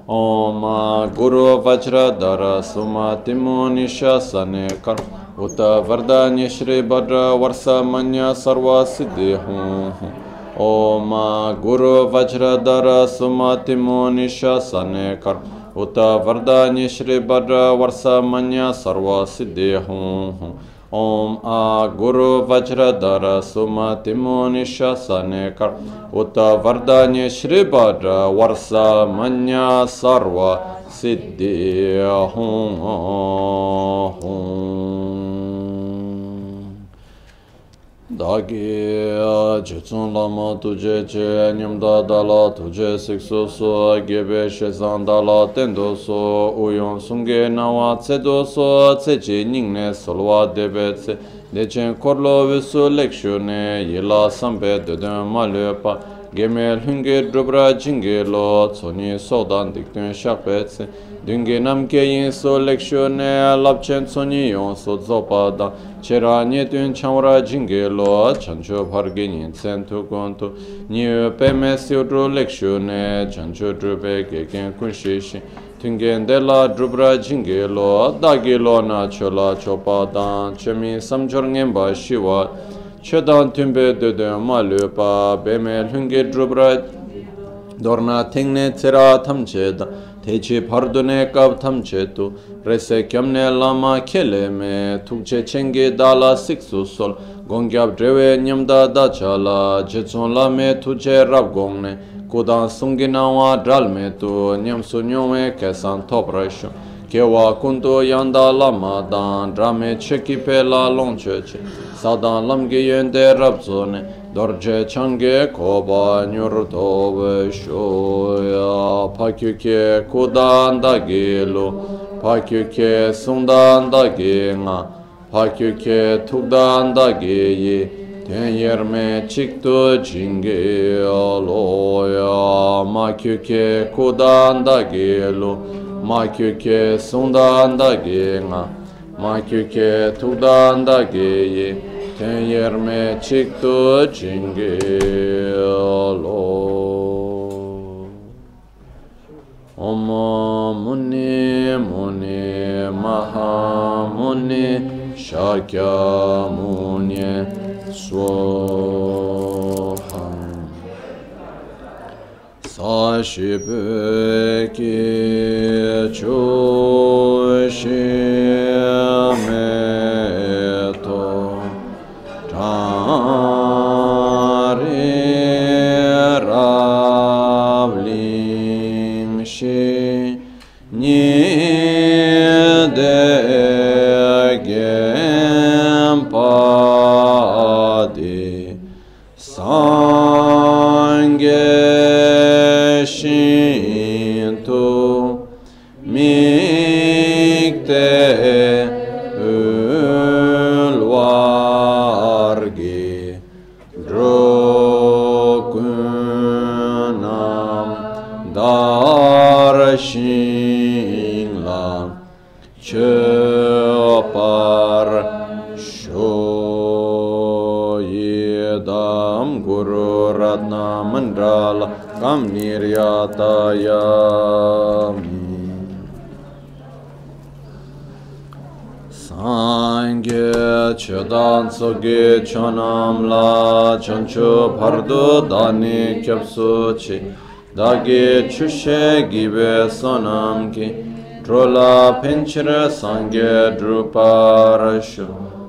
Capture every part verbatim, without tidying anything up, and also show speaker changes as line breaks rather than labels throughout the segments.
Om Guru Vajradhara Sumatimo Nishasane Kar Uta Vardanya Shri Bhadra Varsamanya Sarva Siddhi Hum Om Guru Vajradhara Sumatimo Nishasane Kar Uta Vardanya Shri Bhadra Varsamanya Sarva Siddhi Hum Om A Guru Vajradhara Sumatimo Nishasane Kar Uta Vardanya Shri Bhadra Varsa Manya Sarva Siddhi Hum Dagi Jetsun Lama Tuje Che Nyamda Dala Tuje Siksu So Gebe Shezan Dala Tendo So Uyon Sunge Nawa Tsedo So Tsechi Ningne Solwa Debe Tse Dechen Korlo Visu Lekshune Yila Sambe Deden Malepa Gemel Hunge Drubra Jinge Lo Tsoni Sodan Diktun Shakpe Tse Dunge Namke Yin So Lekshune Lapchen Tsoni Yon So Zopada Chera Nyetun Chamra Jinge Lo Chancho Bhargin Sentu Kontu New Peme Siudru Lekshune Chancho Drube Gegen Kunshishi Tungen Dela Drubra Jinge Lo Dagi Lo Na Chola Chopadan Chemi Samjorngemba Shiwa Chedan Tumbe Dede Malupa Bemel Hunge Drubra Dorna Tingne Tira Tamcheda Techi Pardune Kab Tamchetu Rese Kyamne Lama Keleme Tukche Chenge Dala Siksu Sol Gongyab Drewe Nyamda Dachala Jetson Lame Tuche Rabgongne Kudan Sunginawa Dralme Tu Nyamsu Nyome Kesan Toprasho Kewa Kunto Yanda Lama Dan Drame Cheki Pela Longcheche Sadan Lamge Yende Rabzone Dorje Change Koba Nyurtobe Shoya Pakyuke Kudan Dagilo Pakyuke Sundan Daginga Pakyuke Tugdan Dagiyi Tenyerme Chikto Jinge Aloya Makyuke Kudan Dagilo Makyuke Sundan Daginga Makyuke Tugdan Dagiyi Tenyerme Chikto Jinge Alo Om Muni Muni Maha Muni Shakya Muni Swaha Sashibe Ki Chushi Soge chonam la chancho pardo dani kyapso chi dage chushe gibe sonam ki drola pinchira sange druparasho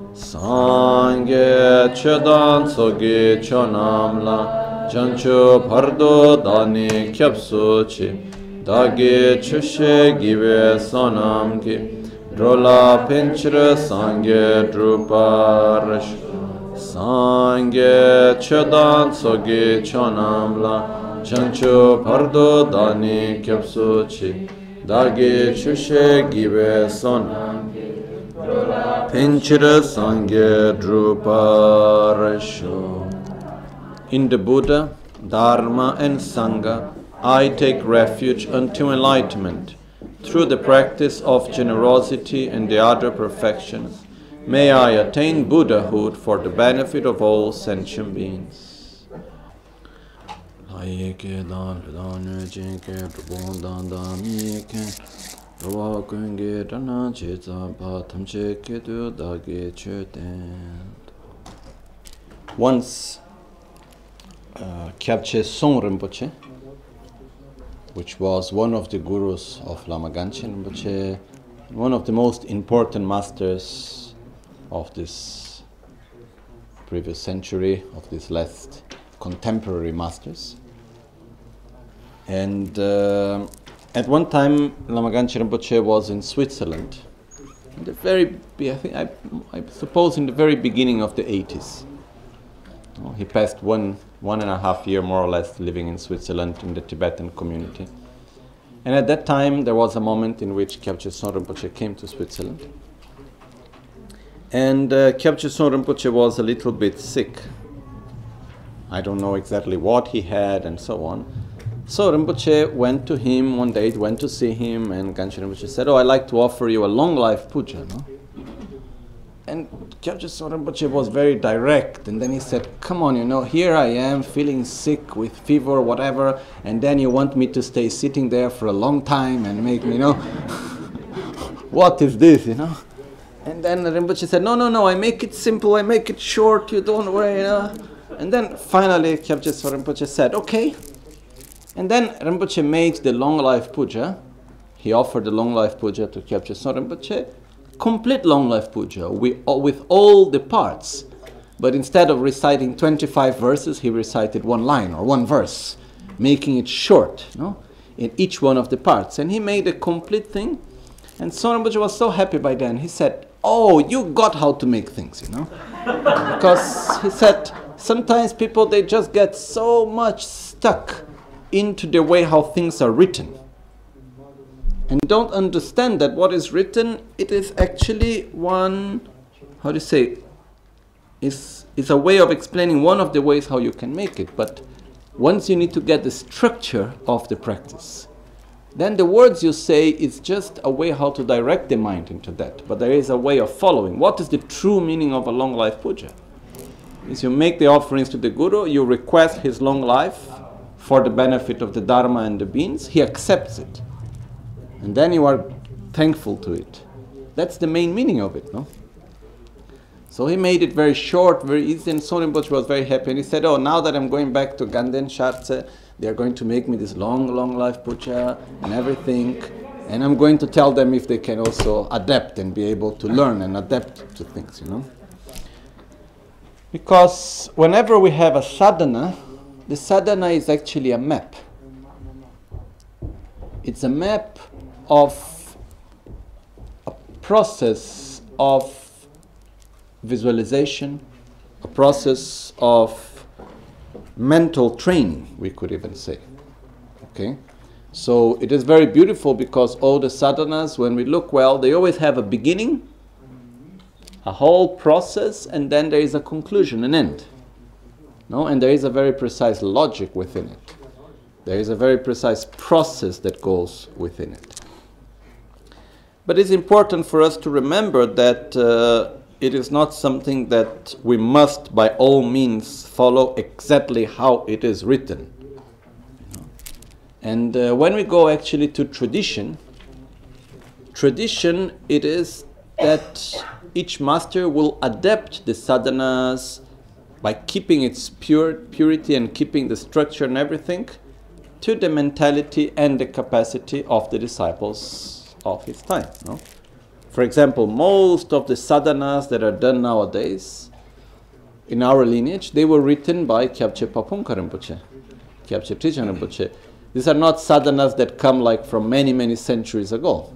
sange chedan soge chonam la chancho pardo dani kyapso chi dage chushe gibe sonam ki Drola Pinchra Sangye Druparash Sangye Chedan Soge Chonamla Chancho Pardo Dani Kyapso Chi Dage Chushe Gibe Sonam Pinchra Sangye Druparasho. In the Buddha, Dharma and Sangha, I take refuge unto enlightenment. Through the practice of generosity and the other perfections, may I attain Buddhahood for the benefit of all sentient beings. Aye ke dan dan ne jin ke bon dan dan mi ke ro kun ge dan che za pa tham che ke du da ge che ten. Once uh, Kyabche Song Rinpoche, which was one of the gurus of Lama Ganchen Rinpoche, one of the most important masters of this previous century, of these last contemporary masters. And uh, at one time, Lama Ganchen Rinpoche was in Switzerland, in the very, I think, I, I suppose, in the very beginning of the eighties. Oh, he passed one one and a half year, more or less, living in Switzerland in the Tibetan community. And at that time, there was a moment in which Kyabche Son Rinpoche came to Switzerland. And uh, Kyabche Son Rinpoche was a little bit sick. I don't know exactly what he had and so on. So Rinpoche went to him one day, went to see him, and Ganchen Rinpoche said, "Oh, I'd like to offer you a long life puja." No? And Kyabche Son Rinpoche was very direct, and then he said, "Come on, you know, here I am feeling sick with fever, whatever, and then you want me to stay sitting there for a long time and make me, you know, what is this, you know?" And then Rinpoche said, "No, no, no, I make it simple, I make it short, you don't worry, you know." And then finally Kyabche Son Rinpoche said, "Okay." And then Rinpoche made the long life puja. He offered the long life puja to Kyabche Son Rinpoche, complete long life puja with, with all the parts. But instead of reciting twenty-five verses, he recited one line or one verse, making it short, you know, in each one of the parts. And he made a complete thing. And Son Rinpoche was so happy by then. He said, "Oh, you got how to make things, you know." Because he said, sometimes people, they just get so much stuck into the way how things are written, and don't understand that what is written, it is actually one, how do you say, is is a way of explaining one of the ways how you can make it. But once you need to get the structure of the practice, then the words you say is just a way how to direct the mind into that. But there is a way of following. What is the true meaning of a long life puja? Is you make the offerings to the Guru, you request his long life for the benefit of the Dharma and the beings, he accepts it. And then you are thankful to it. That's the main meaning of it, no? So he made it very short, very easy, and Son Rinpoche was very happy. And he said, "Oh, now that I'm going back to Ganden Shartse, they are going to make me this long, long life puja and everything. And I'm going to tell them if they can also adapt and be able to learn and adapt to things, you know." Because whenever we have a sadhana, the sadhana is actually a map. It's a map of a process of visualization, a process of mental training, we could even say. Okay? So it is very beautiful because all the sadhanas, when we look well, they always have a beginning, a whole process, and then there is a conclusion, an end. No? And there is a very precise logic within it. There is a very precise process that goes within it. But it's important for us to remember that uh, it is not something that we must by all means follow exactly how it is written. You know? And uh, when we go actually to tradition, tradition it is that each master will adapt the sadhanas by keeping its pure purity and keeping the structure and everything to the mentality and the capacity of the disciples of his time. No? For example, most of the sadhanas that are done nowadays in our lineage, they were written by Kyabche Papunka Rinpoche, Kyabche Trijang Rinpoche. These are not sadhanas that come like from many, many centuries ago.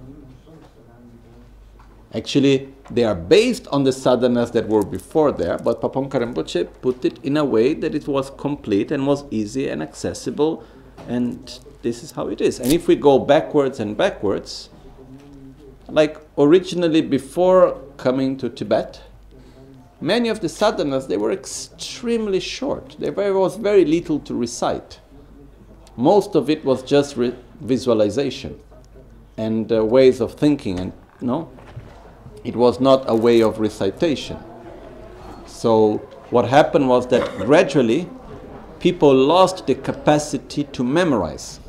Actually, they are based on the sadhanas that were before there, but Papunka Rinpoche put it in a way that it was complete and was easy and accessible, and this is how it is. And if we go backwards and backwards, like originally before coming to Tibet, many of the sadhanas, they were extremely short. There was very little to recite. Most of it was just re- visualization and uh, ways of thinking, and no, it was not a way of recitation. So what happened was that gradually people lost the capacity to memorize.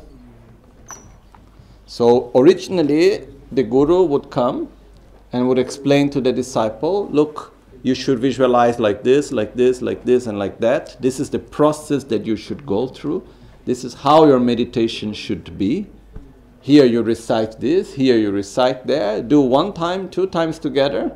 So originally, the guru would come and would explain to the disciple, look, you should visualize like this, like this, like this, and like that. This is the process that you should go through. This is how your meditation should be. Here you recite this, here you recite there. Do one time, two times together.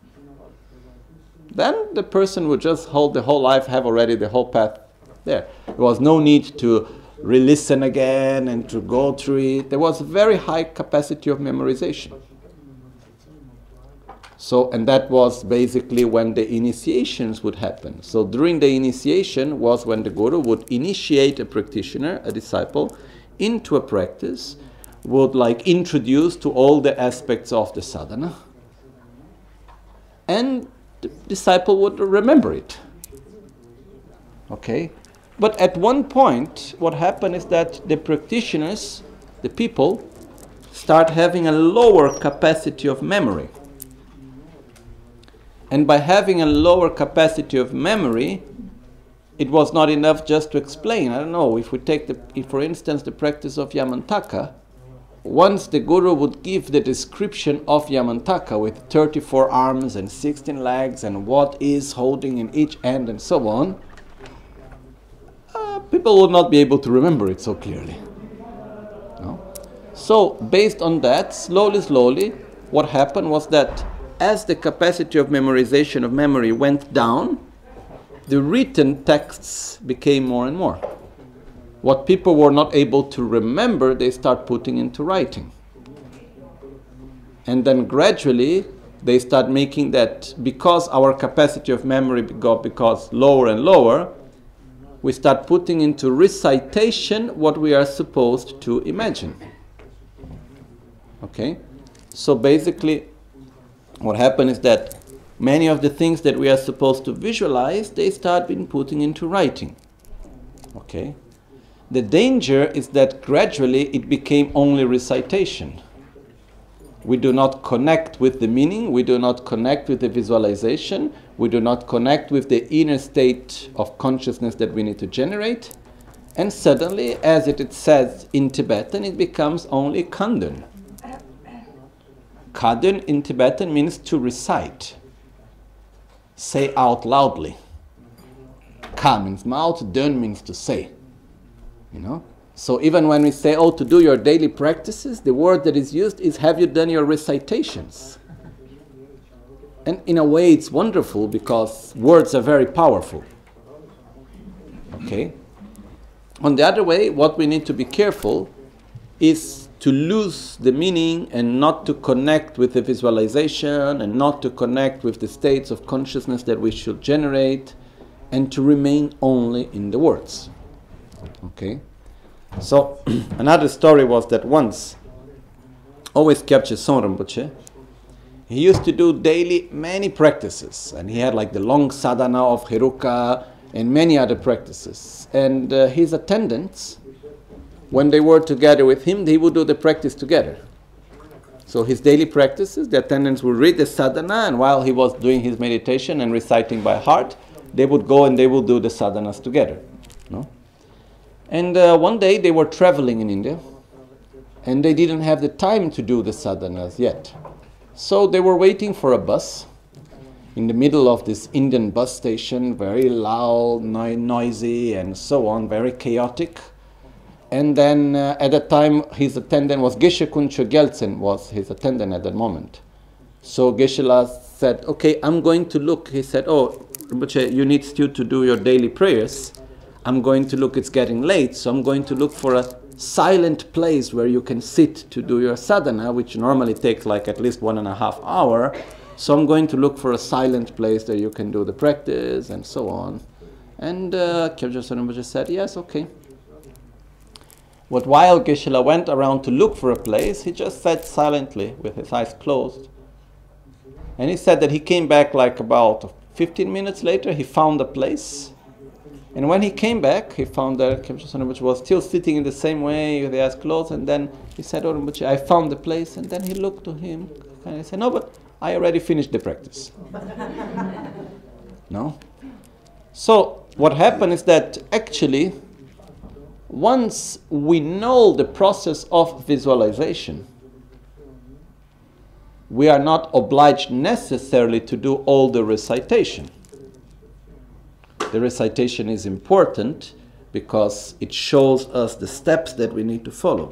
Then the person would just hold the whole life, have already the whole path there. There was no need to re-listen again and to go through it. There was a very high capacity of memorization. So, and that was basically when the initiations would happen. So during the initiation was when the guru would initiate a practitioner, a disciple, into a practice, would like introduce to all the aspects of the sadhana, and the disciple would remember it. Okay? But at one point, what happened is that the practitioners, the people, start having a lower capacity of memory. And by having a lower capacity of memory, it was not enough just to explain. I don't know, if we take, the, if for instance, the practice of Yamantaka, once the guru would give the description of Yamantaka with thirty-four arms and sixteen legs and what is holding in each end and so on, uh, people would not be able to remember it so clearly. No? So, based on that, slowly, slowly, what happened was that as the capacity of memorization of memory went down, the written texts became more and more. What people were not able to remember, they start putting into writing. And then gradually, they start making that, because our capacity of memory got because lower and lower, we start putting into recitation what we are supposed to imagine. Okay? So basically, what happened is that many of the things that we are supposed to visualize, they start being put into writing. Okay? The danger is that gradually it became only recitation. We do not connect with the meaning, we do not connect with the visualization, we do not connect with the inner state of consciousness that we need to generate, and suddenly, as it says in Tibetan, it becomes only Kandun. Kandun in Tibetan means to recite, say out loudly. Ka means mouth, dun means to say. You know? So even when we say, oh, to do your daily practices, the word that is used is, have you done your recitations? And in a way it's wonderful because words are very powerful. Okay? On the other way, what we need to be careful is to lose the meaning and not to connect with the visualization and not to connect with the states of consciousness that we should generate, and to remain only in the words. Okay? So, another story was that once, always Kyabche Son Rinpoche, he used to do daily many practices, and he had like the long sadhana of Heruka and many other practices. And uh, his attendants, when they were together with him, they would do the practice together. So his daily practices, the attendants would read the sadhana, and while he was doing his meditation and reciting by heart, they would go and they would do the sadhanas together. No? And uh, one day they were traveling in India, and they didn't have the time to do the sadhanas yet. So they were waiting for a bus in the middle of this Indian bus station, very loud, no- noisy, and so on, very chaotic. And then uh, at that time, his attendant was Geshe Kuncho Gyaltsen, was his attendant at that moment. So Geshe-la said, okay, I'm going to look. He said, oh, Rinpoche, you need still to do your daily prayers. I'm going to look, it's getting late, so I'm going to look for a silent place where you can sit to do your sadhana, which normally takes like at least one and a half hour. So I'm going to look for a silent place that you can do the practice and so on. And uh, Kyabche Son Rinpoche said, yes, okay. But while Geshe-la went around to look for a place, he just sat silently with his eyes closed. And he said that he came back like about fifteen minutes later, he found a place. And when he came back, he found that Kyabche Son Rinpoche was still sitting in the same way with the eyes closed. And then he said, oh Rinpoche, I found the place. And then he looked to him and he said, no, but I already finished the practice. No? So what happened is that actually, once we know the process of visualization, we are not obliged necessarily to do all the recitation. The recitation is important because it shows us the steps that we need to follow.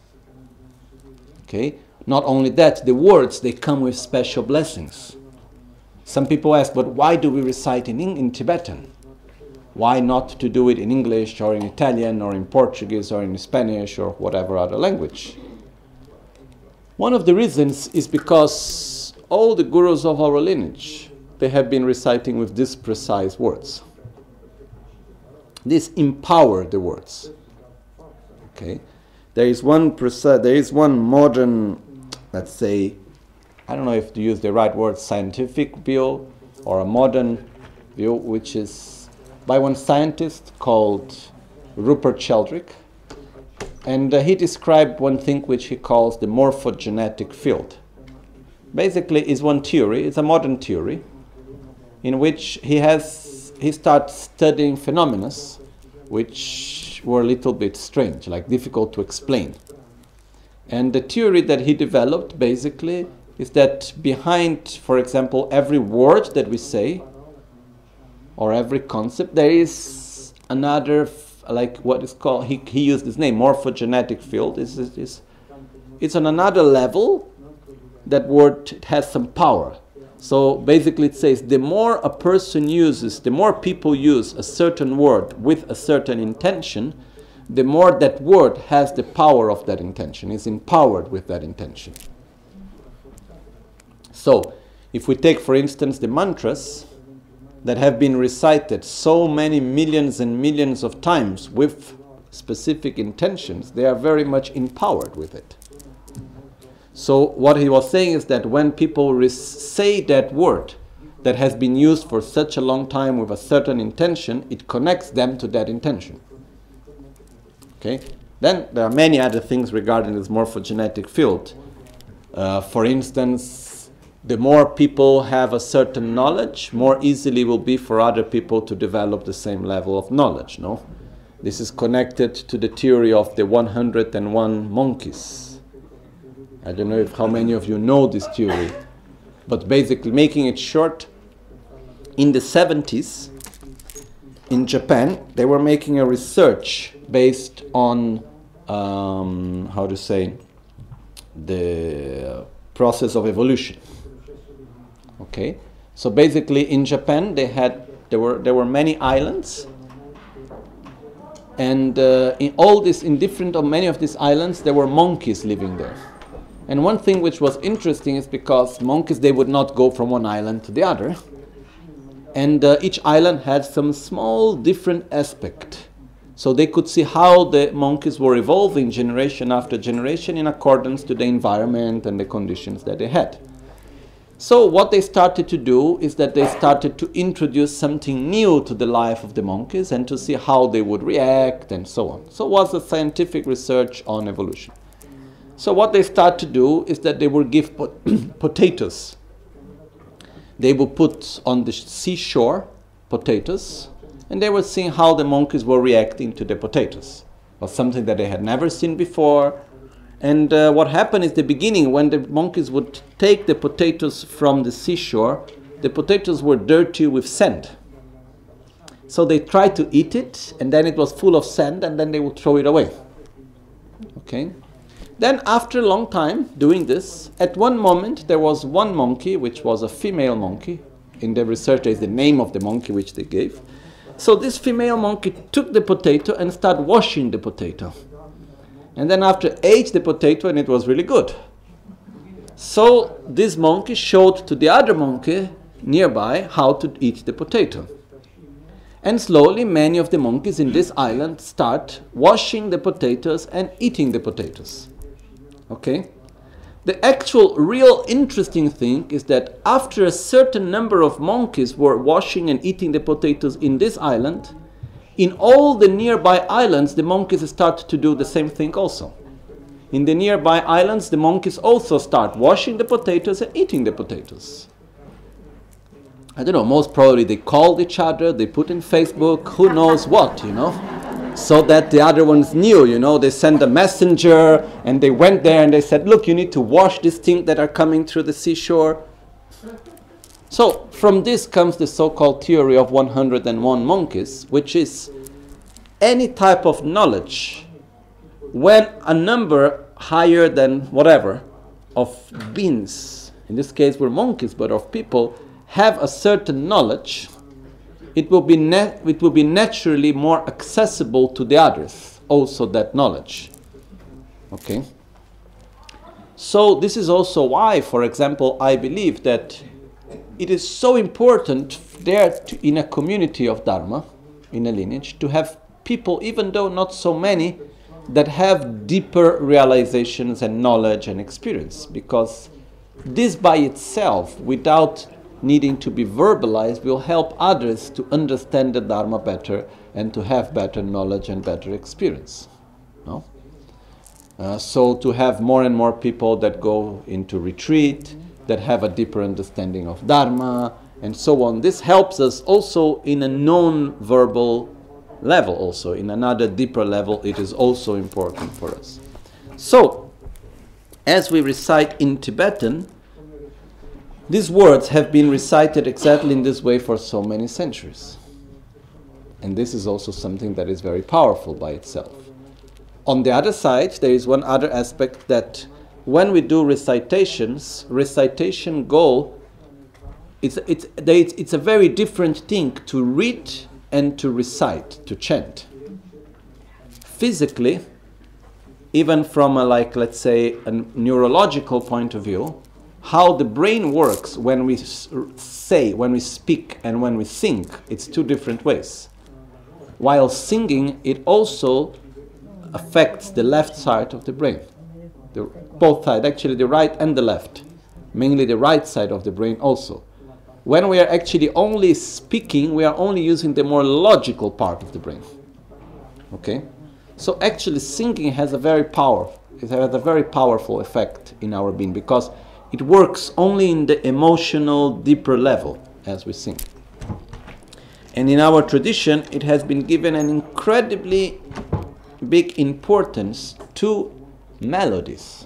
Okay? Not only that, the words, they come with special blessings. Some people ask, but why do we recite in, in Tibetan? Why not to do it in English or in Italian or in Portuguese or in Spanish or whatever other language? One of the reasons is because all the gurus of our lineage, they have been reciting with these precise words. This empower the words. Okay, there is one precise, there is one modern, let's say, I don't know if to use the right word, scientific view or a modern view, which is by one scientist called Rupert Sheldrake. And uh, he described one thing which he calls the morphogenetic field. Basically, is one theory, it's a modern theory, in which he has he starts studying phenomena which were a little bit strange, like difficult to explain. And the theory that he developed basically is that behind, for example, every word that we say or every concept, there is another, like what is called, he, he used this name, morphogenetic field. It's, it's, it's on another level. That word has some power. So basically it says the more a person uses, the more people use a certain word with a certain intention, the more that word has the power of that intention, is empowered with that intention. So if we take, for instance, the mantras that have been recited so many millions and millions of times with specific intentions, they are very much empowered with it. So what he was saying is that when people say that word that has been used for such a long time with a certain intention, it connects them to that intention. Okay? Then there are many other things regarding this morphogenetic field. Uh, for instance, the more people have a certain knowledge, more easily will be for other people to develop the same level of knowledge. No? This is connected to the theory of the one hundred and one monkeys. I don't know if how many of you know this theory, but basically, making it short, in the seventies, in Japan, they were making a research based on, um, how to say, the process of evolution. Okay, so basically, in Japan, they had there were there were many islands, and uh, in all this, in different or many of these islands, there were monkeys living there. And one thing which was interesting is because monkeys, they would not go from one island to the other. And uh, each island had some small different aspect. So they could see how the monkeys were evolving generation after generation in accordance to the environment and the conditions that they had. So what they started to do is that they started to introduce something new to the life of the monkeys and to see how they would react and so on. So it was a scientific research on evolution. So what they start to do is that they will give pot potatoes. They will put on the seashore potatoes, and they were seeing how the monkeys were reacting to the potatoes. It was something that they had never seen before. And uh, what happened is the beginning, when the monkeys would take the potatoes from the seashore, the potatoes were dirty with sand. So they tried to eat it, and then it was full of sand, and then they would throw it away. Okay? Then after a long time doing this, at one moment there was one monkey, which was a female monkey. In the research there is the name of the monkey which they gave. So this female monkey took the potato and started washing the potato. And then after ate the potato, and it was really good. So this monkey showed to the other monkey nearby how to eat the potato. And slowly many of the monkeys in this island start washing the potatoes and eating the potatoes. Okay? The actual real interesting thing is that after a certain number of monkeys were washing and eating the potatoes in this island, in all the nearby islands the monkeys start to do the same thing also. In the nearby islands the monkeys also start washing the potatoes and eating the potatoes. I don't know, most probably they called each other, they put in Facebook, who knows what, you know, so that the other ones knew, you know, they sent a messenger and they went there and they said, look, you need to wash these things that are coming through the seashore. So from this comes the so-called theory of one hundred and one monkeys, which is any type of knowledge when a number higher than whatever of beings, in this case we're monkeys, but of people, have a certain knowledge, it will be na- it will be naturally more accessible to the others, also that knowledge. Okay? So this is also why, for example, I believe that it is so important there to, in a community of Dharma, in a lineage, to have people, even though not so many, that have deeper realizations and knowledge and experience. Because this by itself, without needing to be verbalized, will help others to understand the Dharma better and to have better knowledge and better experience. No? Uh, so to have more and more people that go into retreat, that have a deeper understanding of Dharma, and so on. This helps us also in a non-verbal level also. In another deeper level, it is also important for us. So, as we recite in Tibetan, these words have been recited exactly in this way for so many centuries. And this is also something that is very powerful by itself. On the other side, there is one other aspect that when we do recitations, recitation goal, it's, it's, it's a very different thing to read and to recite, to chant. Physically, even from a, like, let's say, a neurological point of view, how the brain works when we say, when we speak, and when we sing, it's two different ways. While singing, it also affects the left side of the brain. The, both sides, actually the right and the left. Mainly the right side of the brain also. When we are actually only speaking, we are only using the more logical part of the brain. Okay? So actually singing has a very power, it has a very powerful effect in our being, because it works only in the emotional, deeper level as we sing. And in our tradition, it has been given an incredibly big importance to melodies.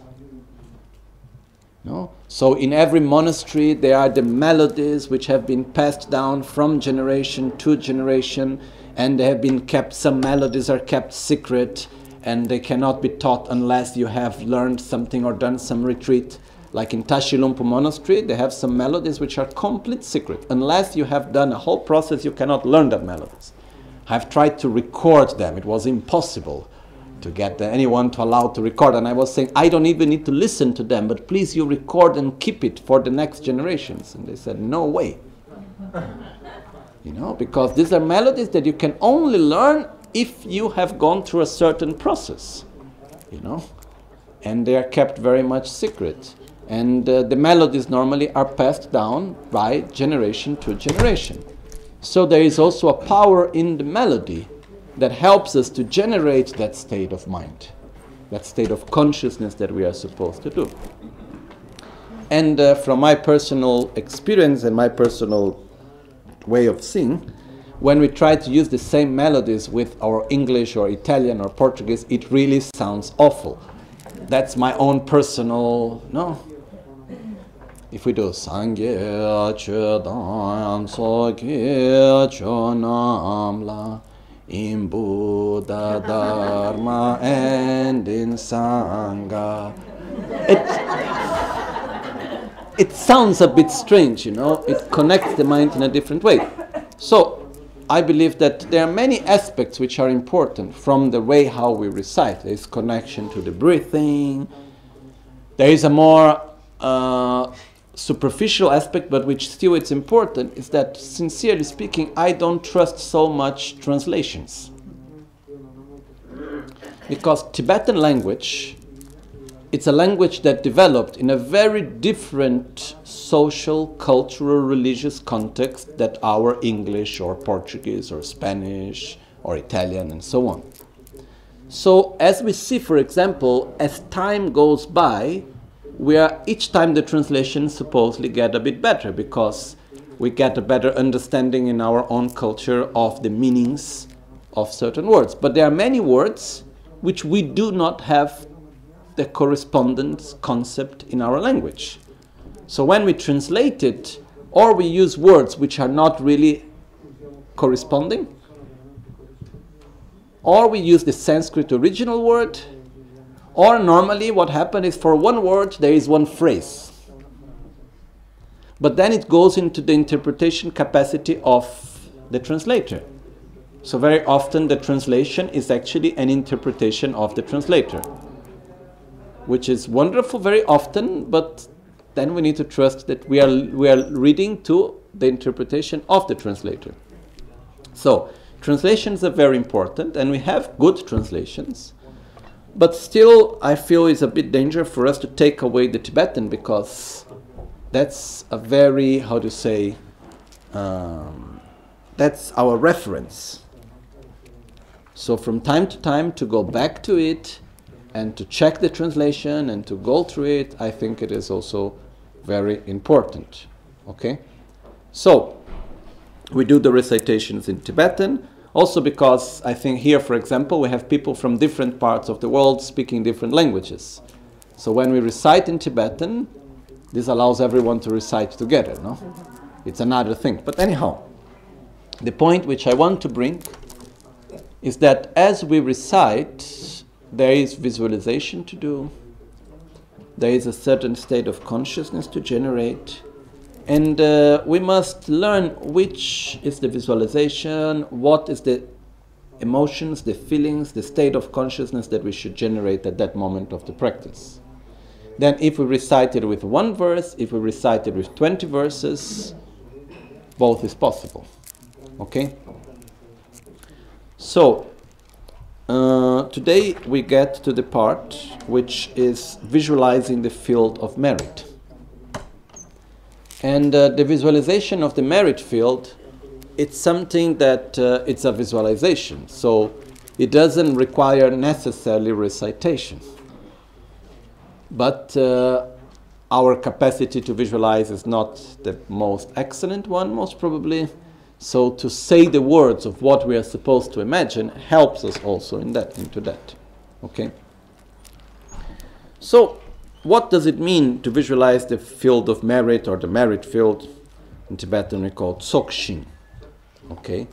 No? So in every monastery there are the melodies which have been passed down from generation to generation, and they have been kept, some melodies are kept secret and they cannot be taught unless you have learned something or done some retreat. Like in Tashi Lumpo Monastery, they have some melodies which are complete secret. Unless you have done a whole process, you cannot learn that melodies. I've tried to record them, it was impossible to get anyone to allow to record, and I was saying, I don't even need to listen to them, but please you record and keep it for the next generations. And they said, no way. You know, because these are melodies that you can only learn if you have gone through a certain process, you know, and they are kept very much secret. And uh, the melodies normally are passed down by generation to generation. So there is also a power in the melody that helps us to generate that state of mind, that state of consciousness that we are supposed to do. And uh, from my personal experience and my personal way of singing, when we try to use the same melodies with our English or Italian or Portuguese, it really sounds awful. That's my own personal, no? If we do Sangye Chodam Soke Chonamla in Buddha Dharma and in Sangha, it, it sounds a bit strange, you know, it connects the mind in a different way. So I believe that there are many aspects which are important from the way how we recite. There is connection to the breathing, there is a more uh, superficial aspect, but which still it's important, is that, sincerely speaking, I don't trust so much translations. Because Tibetan language, it's a language that developed in a very different social, cultural, religious context that our English or Portuguese or Spanish or Italian and so on. So as we see, for example, as time goes by, we are, each time the translations supposedly get a bit better, because
we get a better understanding in our own culture of the meanings of certain words. But there are many words which we do not have the correspondence concept in our language. So when we translate it, or we use words which are not really corresponding, or we use the Sanskrit original word, or normally what happens is for one word there is one phrase. But then it goes into the interpretation capacity of the translator. So very often the translation is actually an interpretation of the translator, which is wonderful very often, but then we need to trust that we are, we are reading to the interpretation of the translator. So translations are very important, and we have good translations, but still I feel it's a bit dangerous for us to take away the Tibetan, because that's a very, how to say, um, that's our reference. So from time to time to go back to it and to check the translation and to go through it, I think it is also very important. Okay? So, we do the recitations in Tibetan, also because I think here, for example, we have people from different parts of the world speaking different languages. So when we recite in Tibetan, this allows everyone to recite together, no? It's another thing. But anyhow, the point which I want to bring is that as we recite, there is visualization to do, there is a certain state of consciousness to generate, and uh, we must learn which is the visualization, what is the emotions, the feelings, the state of consciousness that we should generate at that moment of the practice. Then if we recite it with one verse, if we recite it with twenty verses, both is possible. Okay? So, uh, today we get to the part which is visualizing the field of merit. And uh, the visualization of the merit field, it's something that uh, it's a visualization. So it doesn't require necessarily recitation. But uh, our capacity to visualize is not the most excellent one, most probably. So to say the words of what we are supposed to imagine helps us also in that, into that. Okay? So, what does it mean to visualize the field of merit, or the merit field? In Tibetan we call it Tsokshin. Okay?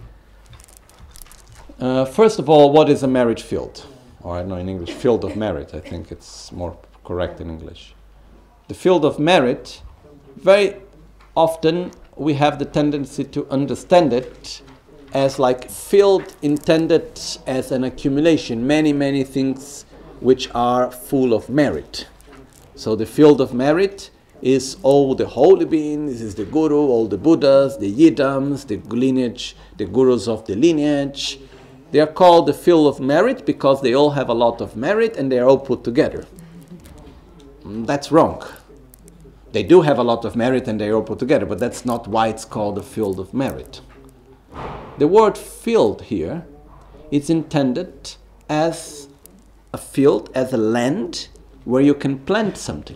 Uh, first of all, what is a merit field? Or I know in English, field of merit. I think it's more correct in English. The field of merit, very often we have the tendency to understand it as like field intended as an accumulation, many, many things which are full of merit. So the field of merit is all the holy beings, is the guru, all the Buddhas, the Yidams, the lineage, the gurus of the lineage. They are called the field of merit because they all have a lot of merit and they are all put together. That's wrong. They do have a lot of merit and they are all put together, but that's not why it's called a field of merit. The word field here is intended as a field, as a land where you can plant something.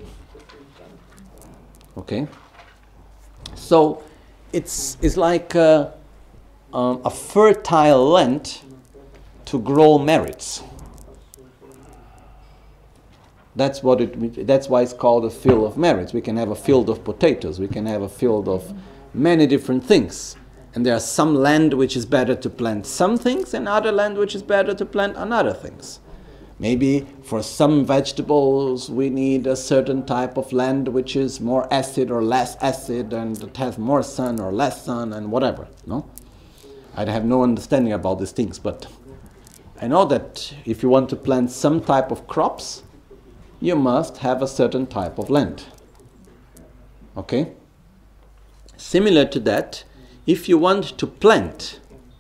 Okay? So it's, it's like a, um, a fertile land to grow merits. That's what it. That's why it's called a field of merits. We can have a field of potatoes. We can have a field of many different things. And there are some land which is better to plant some things, and other land which is better to plant another things. Maybe for some vegetables we need a certain type of land which is more acid or less acid, and it has more sun or less sun, and whatever. No, I have no understanding about these things, but I know that if you want to plant some type of crops, you must have a certain type of land. Okay? Similar to that, if you want to plant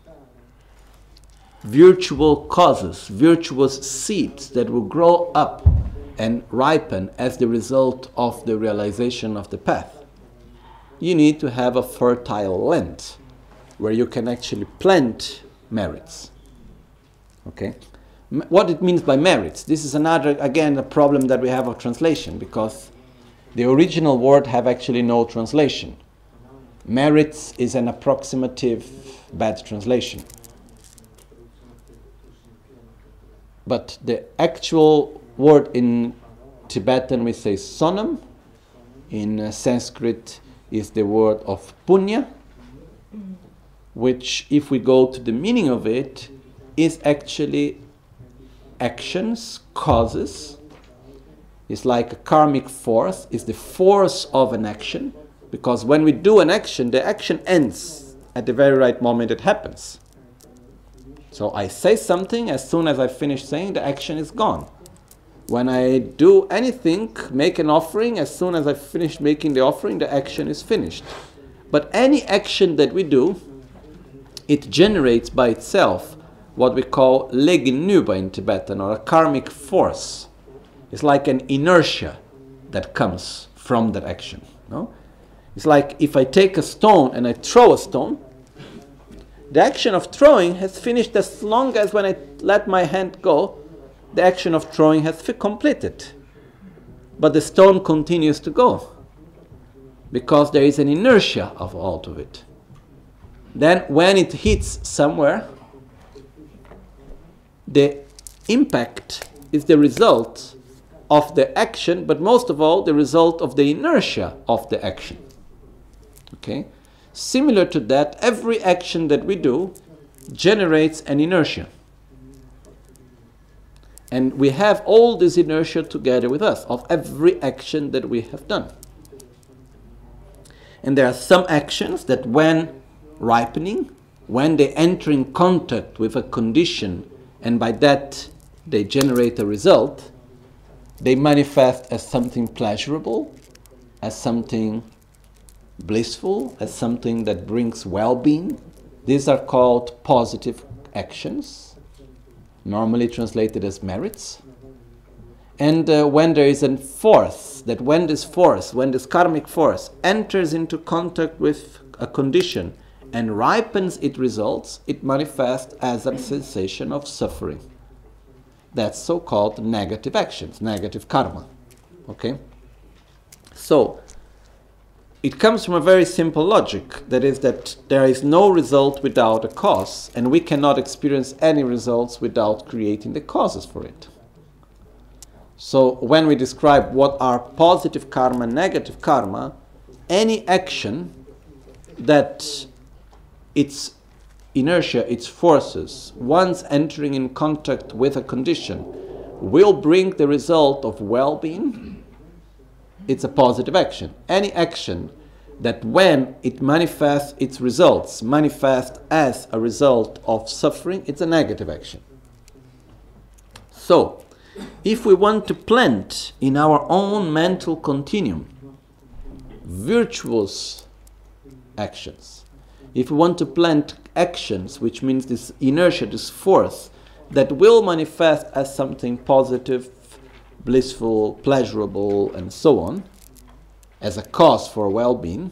virtual causes, virtuous seeds that will grow up and ripen as the result of the realization of the path, you need to have a fertile land where you can actually plant merits. Okay? What it means by merits, this is another, again, a problem that we have of translation, because the original word have actually no translation. Merits is an approximative bad translation. But the actual word in Tibetan we say sonam. In uh, Sanskrit is the word of punya, which, if we go to the meaning of it, is actually actions, causes. It's like a karmic force, it's the force of an action, because when we do an action, the action ends at the very right moment it happens. So I say something, as soon as I finish saying, the action is gone. When I do anything, make an offering, as soon as I finish making the offering, the action is finished. But any action that we do, it generates by itself what we call leginuba in Tibetan, or a karmic force. It's like an inertia that comes from that action. No? It's like if I take a stone and I throw a stone, the action of throwing has finished as long as when I let my hand go, the action of throwing has completed. But the stone continues to go because there is an inertia of all of it. Then when it hits somewhere, the impact is the result of the action, but most of all the result of the inertia of the action. Okay? Similar to that, every action that we do generates an inertia. And we have all this inertia together with us, of every action that we have done. And there are some actions that when ripening, when they enter in contact with a condition, and by that they generate a result, they manifest as something pleasurable, as something blissful, as something that brings well-being. These are called positive actions, normally translated as merits. And uh, when there is a force, that when this force, when this karmic force enters into contact with a condition and ripens its results, it manifests as a sensation of suffering. That's so-called negative actions, negative karma. Okay? So, it comes from a very simple logic, that is that there is no result without a cause, and we cannot experience any results without creating the causes for it. So when we describe what are positive karma and negative karma, any action that its inertia, its forces, once entering in contact with a condition, will bring the result of well-being, it's a positive action. Any action that when it manifests its results, manifests as a result of suffering, it's a negative action. So, if we want to plant in our own mental continuum virtuous actions, if we want to plant actions, which means this inertia, this force, that will manifest as something positive, blissful, pleasurable, and so on, as a cause for well-being,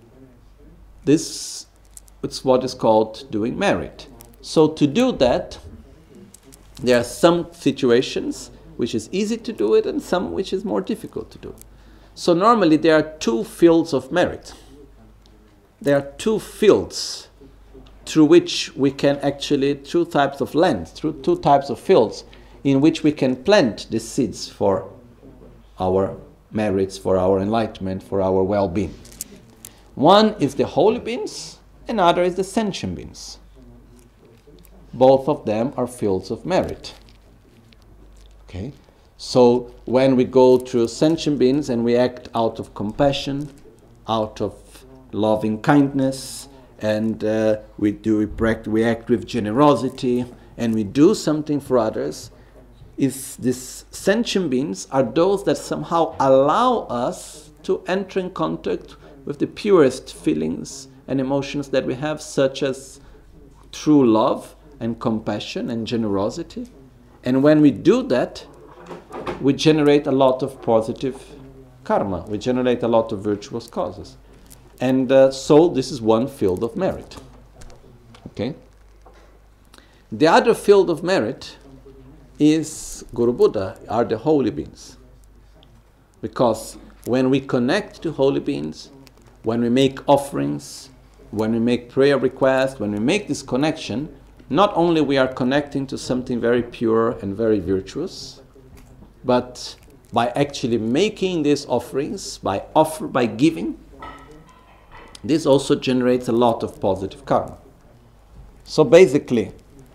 this is what is called doing merit. So to do that, there are some situations which is easy to do it and some which is more difficult to do. So normally there are two fields of merit. There are two fields through which we can actually, two types of lands, through two types of fields, in which we can plant the seeds for our merits, for our enlightenment, for our well-being. One is the holy beings, another is the sentient beings. Both of them are fields of merit. Okay? So when we go through sentient beings and we act out of compassion, out of loving kindness, and uh, we do we, practice, we act with generosity, and we do something for others, is these sentient beings are those that somehow allow us to enter in contact with the purest feelings and emotions that we have, such as true love and compassion and generosity. And when we do that, we generate a lot of positive karma. We generate a lot of virtuous causes. And uh, so this is one field of merit. Okay? The other field of merit is Guru Buddha, are the holy beings. Because when we connect to holy beings, when we make offerings, when we make prayer requests, when we make this connection, not only we are connecting to something very pure and very virtuous, but by actually making these offerings, by offer, by giving, this also generates a lot of positive karma. So basically,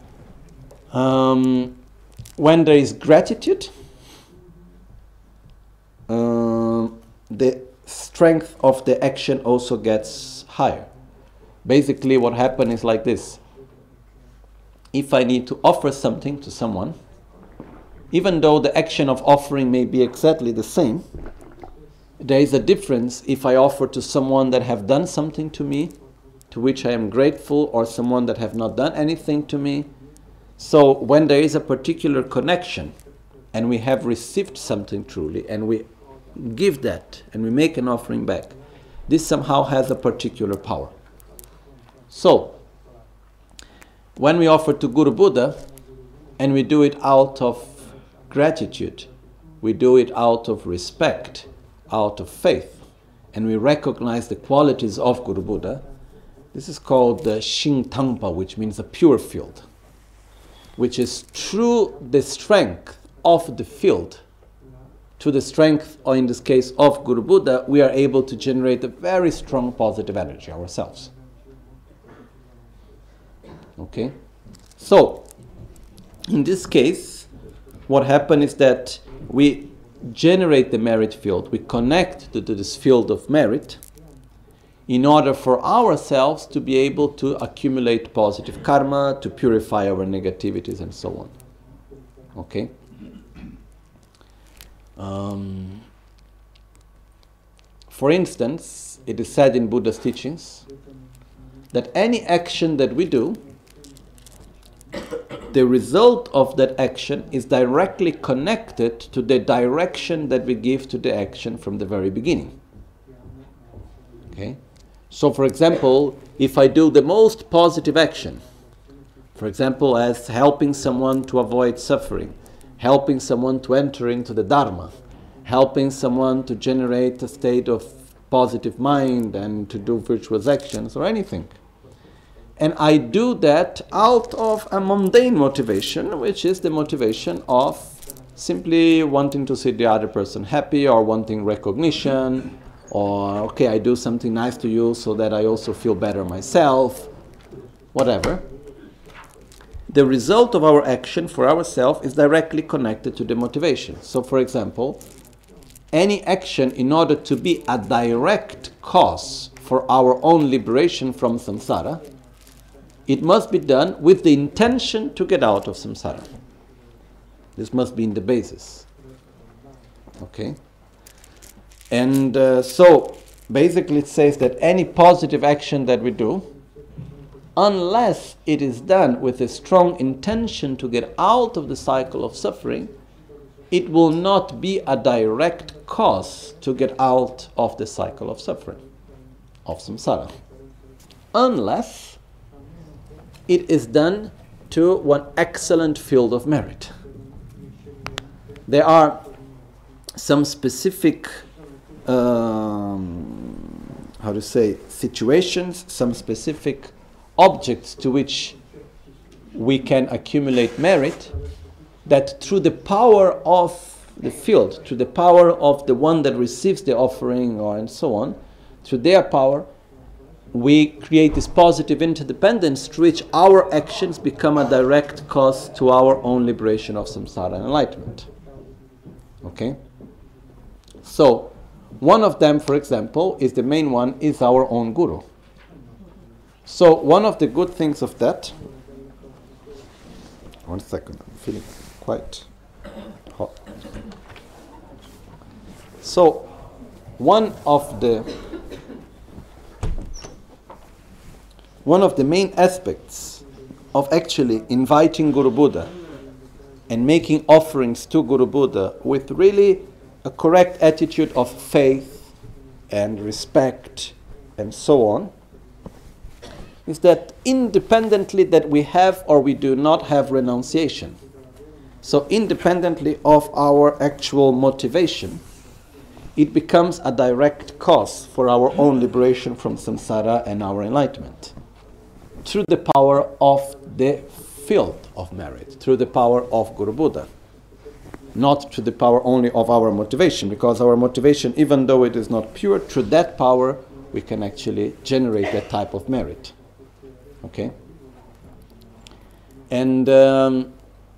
um, when there is gratitude, uh, the strength of the action also gets higher. Basically, what happens is like this. If I need to offer something to someone, even though the action of offering may be exactly the same, there is a difference if I offer to someone that have done something to me, to which I am grateful, or someone that have not done anything to me. So when there is a particular connection, and we have received something truly, and we give that, and we make an offering back, this somehow has a particular power. So, when we offer to Guru Buddha, and we do it out of gratitude, we do it out of respect, out of faith, and we recognize the qualities of Guru Buddha, this is called the Shingtangpa, which means a pure field, which is through the strength of the field, to the strength, or in this case of Guru Buddha, we are able to generate a very strong positive energy ourselves. Okay? So, in this case, what happens is that we generate the merit field, we connect to, to this field of merit in order for ourselves to be able to accumulate positive karma, to purify our negativities and so on. Okay? Um, for instance, it is said in Buddha's teachings that any action that we do, the result of that action is directly connected to the direction that we give to the action from the very beginning. Okay? So, for example, if I do the most positive action, for example, as helping someone to avoid suffering, helping someone to enter into the Dharma, helping someone to generate a state of positive mind and to do virtuous actions or anything, and I do that out of a mundane motivation, which is the motivation of simply wanting to see the other person happy, or wanting recognition, or okay, I do something nice to you so that I also feel better myself, whatever. The result of our action for ourselves is directly connected to the motivation. So, for example, any action, in order to be a direct cause for our own liberation from samsara, it must be done with the intention to get out of samsara. This must be in the basis. Okay? And uh, so, basically it says that any positive action that we do, unless it is done with a strong intention to get out of the cycle of suffering, it will not be a direct cause to get out of the cycle of suffering, of samsara. Unless it is done to one excellent field of merit. There are some specific, um, how to say, situations, some specific objects to which we can accumulate merit, that through the power of the field, through the power of the one that receives the offering, or and so on, through their power, we create this positive interdependence through which our actions become a direct cause to our own liberation of samsara and enlightenment. Okay? So, one of them, for example, is the main one, is our own guru. So, one of the good things of that, one second, I'm feeling quite hot. So, one of the One of the main aspects of actually inviting Guru Buddha and making offerings to Guru Buddha with really a correct attitude of faith and respect and so on, is that independently that we have or we do not have renunciation, so independently of our actual motivation, it becomes a direct cause for our own liberation from samsara and our enlightenment through the power of the field of merit, through the power of Guru Buddha, not through the power only of our motivation, because our motivation, even though it is not pure, through that power we can actually generate that type of merit. Okay? And um,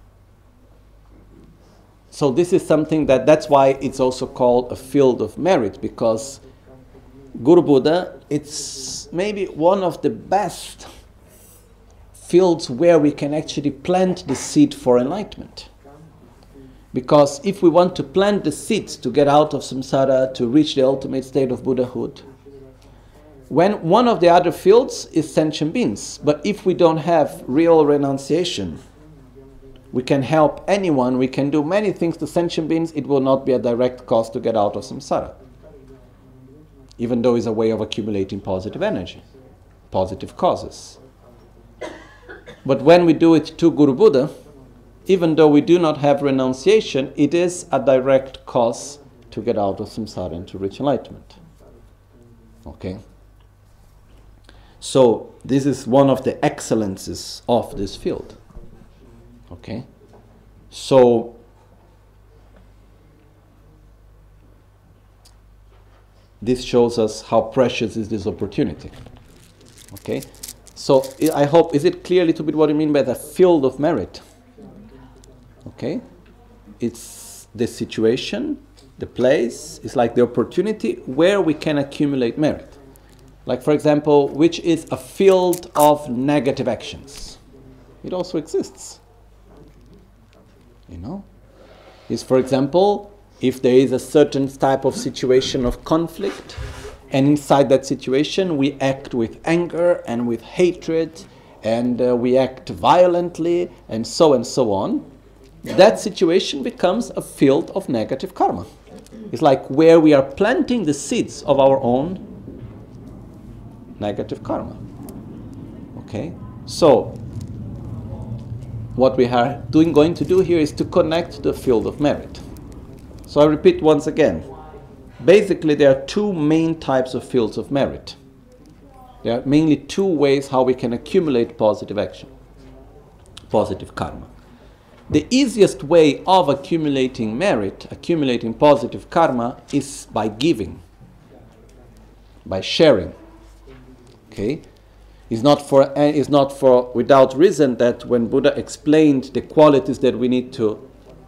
so this is something that, that's why it's also called a field of merit, because Guru Buddha, it's maybe one of the best fields where we can actually plant the seed for enlightenment. Because if we want to plant the seeds to get out of samsara, to reach the ultimate state of Buddhahood, when one of the other fields is sentient beings, but if we don't have real renunciation, we can help anyone, we can do many things to sentient beings, it will not be a direct cause to get out of samsara. Even though it's a way of accumulating positive energy, positive causes. But when we do it to Guru Buddha, even though we do not have renunciation, it is a direct cause to get out of samsara and to reach enlightenment. Okay? So, this is one of the excellences of this field. Okay? So, this shows us how precious is this opportunity. Okay? So, I hope, is it clear a little bit what I mean by the field of merit? Okay? It's the situation, the place, it's like the opportunity where we can accumulate merit. Like, for example, which is a field of negative actions. It also exists. You know? Is, for example, if there is a certain type of situation of conflict, and inside that situation we act with anger and with hatred, and uh, we act violently, and so and so on, that situation becomes a field of negative karma. It's like where we are planting the seeds of our own negative karma. Okay? So, what we are doing, going to do here is to connect the field of merit. So I repeat once again. Basically, there are two main types of fields of merit. There are mainly two ways how we can accumulate positive action, positive karma. The easiest way of accumulating merit, accumulating positive karma, is by giving, by sharing. Okay? It's not for, it's not for without reason that when Buddha explained the qualities that we need to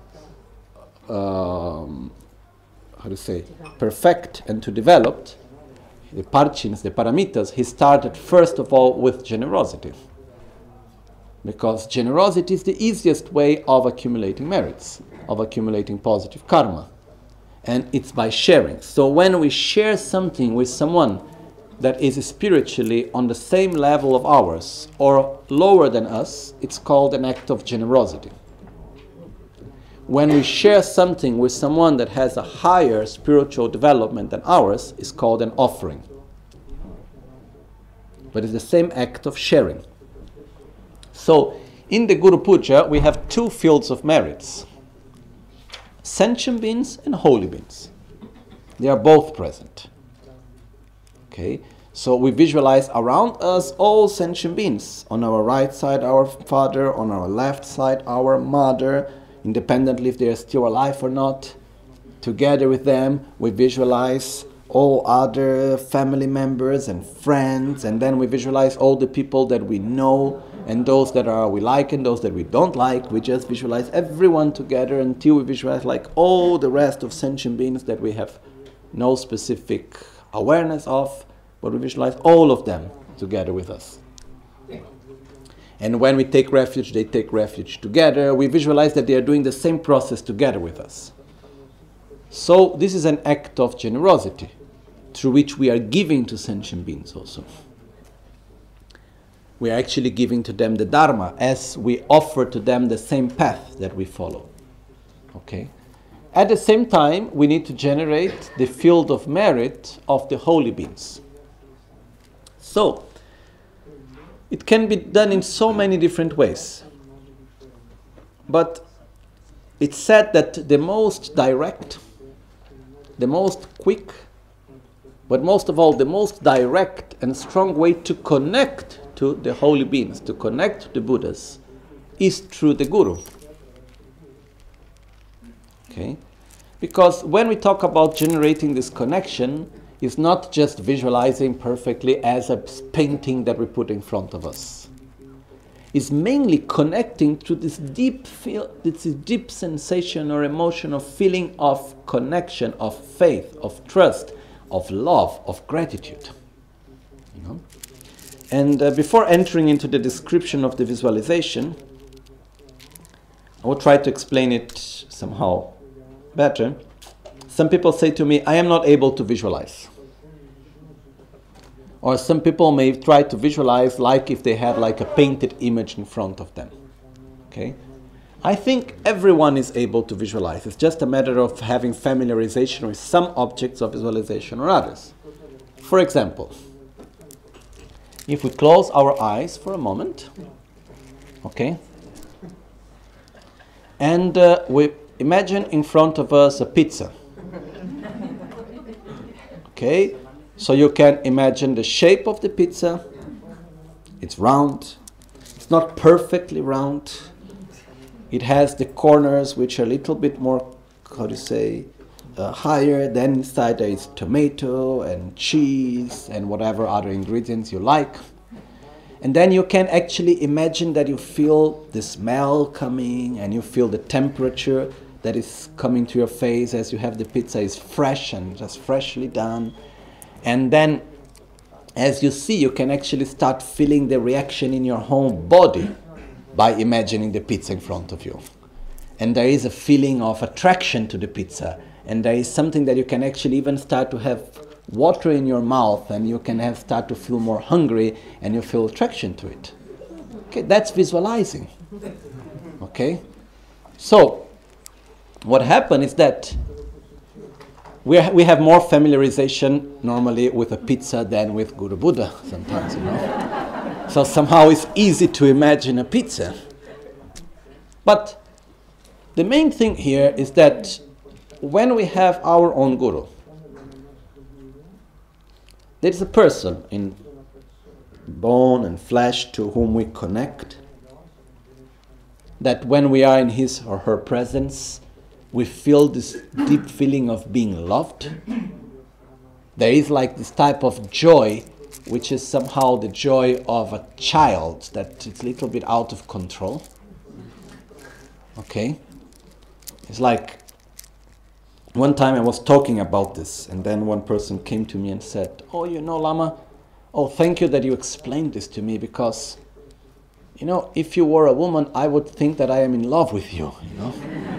um, how to say, perfect and to develop, the parchins, the paramitas, he started first of all with generosity. Because generosity is the easiest way of accumulating merits, of accumulating positive karma. And it's by sharing. So when we share something with someone that is spiritually on the same level of ours or lower than us, it's called an act of generosity. When we share something with someone that has a higher spiritual development than ours, it's called an offering. But it's the same act of sharing. So, in the Guru Puja, we have two fields of merits. Sentient beings and holy beings. They are both present. Okay? So we visualize around us all sentient beings. On our right side, our father. On our left side, our mother. Independently if they are still alive or not. Together with them, we visualize all other family members and friends, and then we visualize all the people that we know, and those that are we like and those that we don't like. We just visualize everyone together until we visualize like all the rest of sentient beings that we have no specific awareness of, but we visualize all of them together with us. And when we take refuge, they take refuge together. We visualize that they are doing the same process together with us. So this is an act of generosity, through which we are giving to sentient beings also. We are actually giving to them the Dharma as we offer to them the same path that we follow. Okay? At the same time, we need to generate the field of merit of the holy beings. So, it can be done in so many different ways. But it's said that the most direct, the most quick, but most of all, the most direct and strong way to connect to the holy beings, to connect to the Buddhas, is through the Guru. Okay? Because when we talk about generating this connection, it's not just visualizing perfectly as a painting that we put in front of us. It's mainly connecting to this deep feel, this deep sensation or emotion of feeling of connection, of faith, of trust, of love, of gratitude. You know? And uh, before entering into the description of the visualization, I will try to explain it somehow better. Some people say to me, I am not able to visualize. Or some people may try to visualize like if they had like a painted image in front of them. Okay? I think everyone is able to visualize. It's just a matter of having familiarization with some objects of visualization or others. For example, if we close our eyes for a moment, okay, and uh, we imagine in front of us a pizza. Okay, so you can imagine the shape of the pizza. It's round. It's not perfectly round. It has the corners which are a little bit more, how do you say, uh, higher. Then inside there is tomato and cheese and whatever other ingredients you like. And then you can actually imagine that you feel the smell coming and you feel the temperature that is coming to your face as you have the pizza is fresh and just freshly done. And then as you see, you can actually start feeling the reaction in your whole body by imagining the pizza in front of you. And there is a feeling of attraction to the pizza. And there is something that you can actually even start to have water in your mouth, and you can have start to feel more hungry and you feel attraction to it. Okay, that's visualizing. Okay? So, what happened is that we ha- we have more familiarization normally with a pizza than with Guru Buddha sometimes, you know. So somehow it's easy to imagine a pizza. But the main thing here is that when we have our own Guru, there is a person in bone and flesh to whom we connect, that when we are in his or her presence, we feel this deep feeling of being loved. There is like this type of joy, which is somehow the joy of a child, that it's a little bit out of control. Okay? It's like, one time I was talking about this, and then one person came to me and said, oh, you know, Lama, oh, thank you that you explained this to me, because, you know, if you were a woman, I would think that I am in love with you, you know.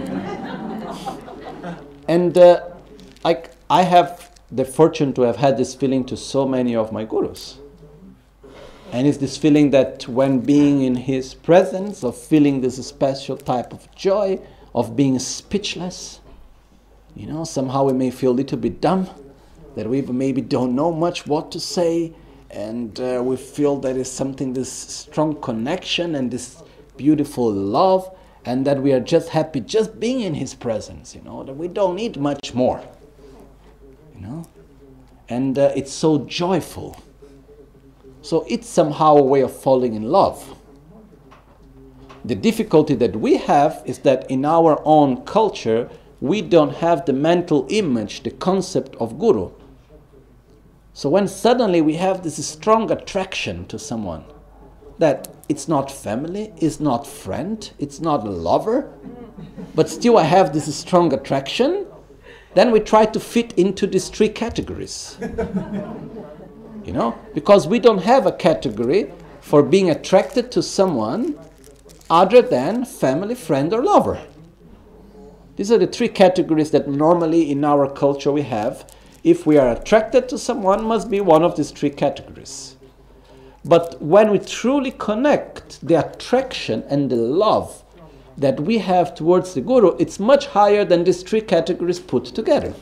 And uh, I, I have the fortune to have had this feeling to so many of my gurus. And it's this feeling that when being in his presence, of feeling this special type of joy, of being speechless, you know, somehow we may feel a little bit dumb, that we maybe don't know much what to say, and uh, we feel there is something, this strong connection and this beautiful love, and that we are just happy just being in his presence, you know, that we don't need much more, you know, and uh, it's so joyful. So it's somehow a way of falling in love. The difficulty that we have is that in our own culture, we don't have the mental image, the concept of Guru. So when suddenly we have this strong attraction to someone, that it's not family, it's not friend, it's not a lover, but still I have this strong attraction, then we try to fit into these three categories. You know, because we don't have a category for being attracted to someone other than family, friend, or lover. These are the three categories that normally in our culture we have. If we are attracted to someone, must be one of these three categories. But when we truly connect, the attraction and the love that we have towards the Guru, it's much higher than these three categories put together.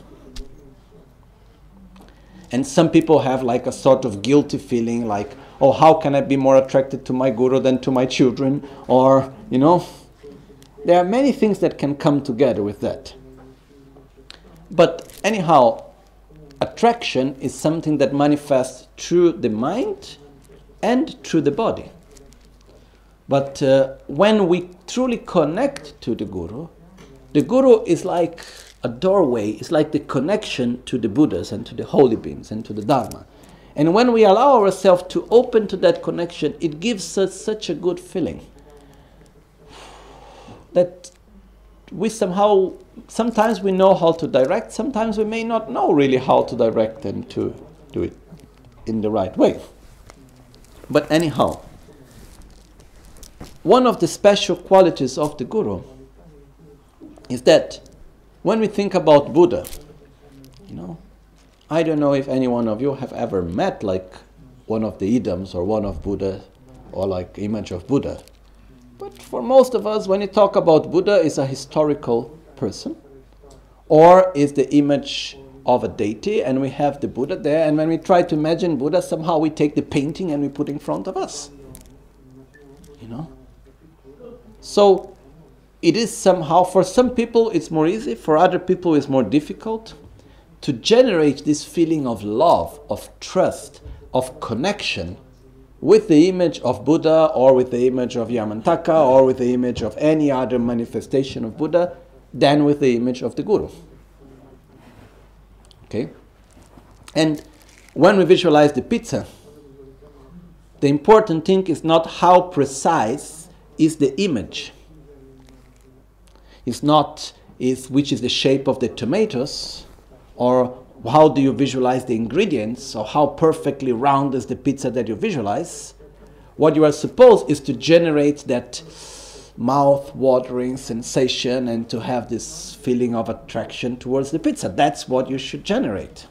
And some people have like a sort of guilty feeling, like, oh, how can I be more attracted to my Guru than to my children? Or, you know, there are many things that can come together with that. But anyhow, attraction is something that manifests through the mind and through the body. But uh, when we truly connect to the Guru, the Guru is like a doorway, it's like the connection to the Buddhas and to the holy beings and to the Dharma. And when we allow ourselves to open to that connection, it gives us such a good feeling that we somehow, sometimes we know how to direct, sometimes we may not know really how to direct and to do it in the right way. But anyhow, one of the special qualities of the Guru is that when we think about Buddha, you know, I don't know if any one of you have ever met like one of the idams or one of Buddha or like image of Buddha. But for most of us, when you talk about Buddha, it's a historical person or is the image of a deity, and we have the Buddha there, and when we try to imagine Buddha, somehow we take the painting and we put in front of us. You know? So it is somehow, for some people it's more easy, for other people it's more difficult to generate this feeling of love, of trust, of connection with the image of Buddha or with the image of Yamantaka or with the image of any other manifestation of Buddha than with the image of the Guru. Okay? And when we visualize the pizza, the important thing is not how precise is the image. It's not is which is the shape of the tomatoes, or how do you visualize the ingredients, or how perfectly round is the pizza that you visualize. What you are supposed is to generate that mouth-watering sensation and to have this feeling of attraction towards the pizza. That's what you should generate.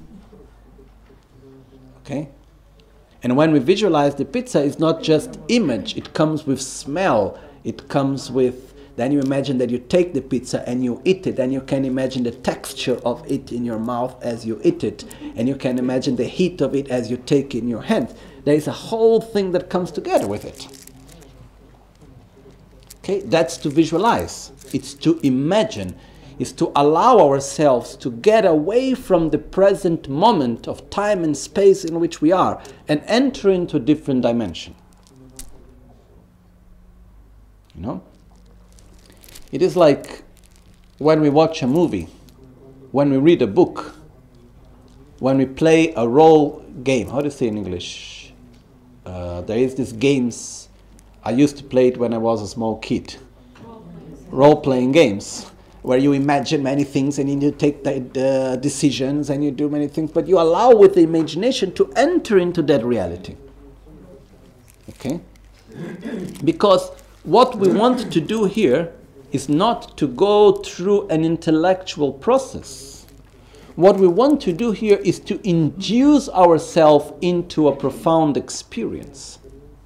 Okay? And when we visualize the pizza, it's not just image, it comes with smell, it comes with, then you imagine that you take the pizza and you eat it, and you can imagine the texture of it in your mouth as you eat it, and you can imagine the heat of it as you take it in your hand. There is a whole thing that comes together with it. Okay, that's to visualize. It's to imagine. It's to allow ourselves to get away from the present moment of time and space in which we are and enter into a different dimension. You know? It is like when we watch a movie, when we read a book, when we play a role game. How do you say in English? Uh, there is these games. I used to play it when I was a small kid. Role-playing games, where you imagine many things and you take the, the decisions and you do many things, but you allow with the imagination to enter into that reality. Okay? Because what we want to do here is not to go through an intellectual process. What we want to do here is to induce ourselves into a profound experience.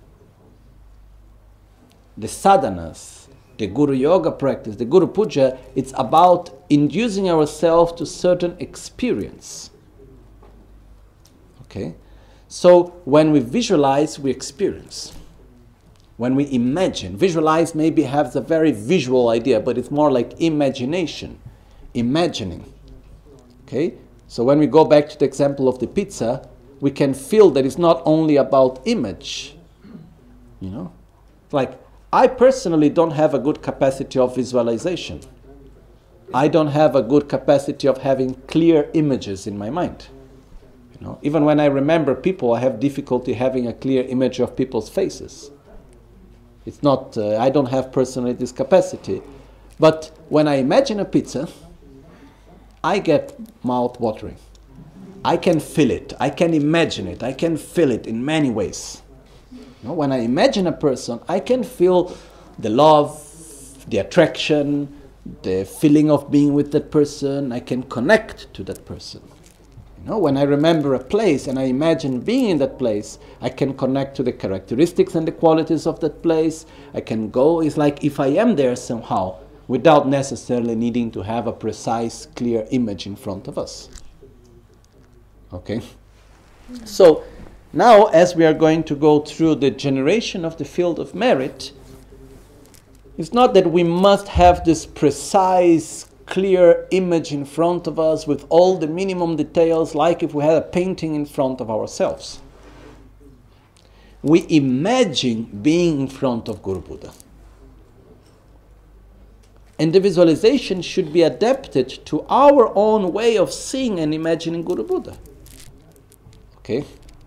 The sadhanas, the Guru Yoga practice, the Guru Puja, it's about inducing ourselves to certain experience. Okay? So when we visualize, we experience. When we imagine, visualize maybe has a very visual idea, but it's more like imagination, imagining. Okay? So when we go back to the example of the pizza, we can feel that it's not only about image. You know? Like, I personally don't have a good capacity of visualization. I don't have a good capacity of having clear images in my mind. You know? Even when I remember people, I have difficulty having a clear image of people's faces. It's not, uh, I don't have personally this capacity. But when I imagine a pizza, I get mouth watering. I can feel it. I can imagine it. I can feel it in many ways. You know, when I imagine a person, I can feel the love, the attraction, the feeling of being with that person. I can connect to that person. You know, when I remember a place and I imagine being in that place, I can connect to the characteristics and the qualities of that place. I can go, it's like if I am there somehow, without necessarily needing to have a precise, clear image in front of us. Okay? So, now as we are going to go through the generation of the field of merit, it's not that we must have this precise, clear image in front of us with all the minimum details, like if we had a painting in front of ourselves. We imagine being in front of Guru Buddha. And the visualization should be adapted to our own way of seeing and imagining Guru Buddha. Okay?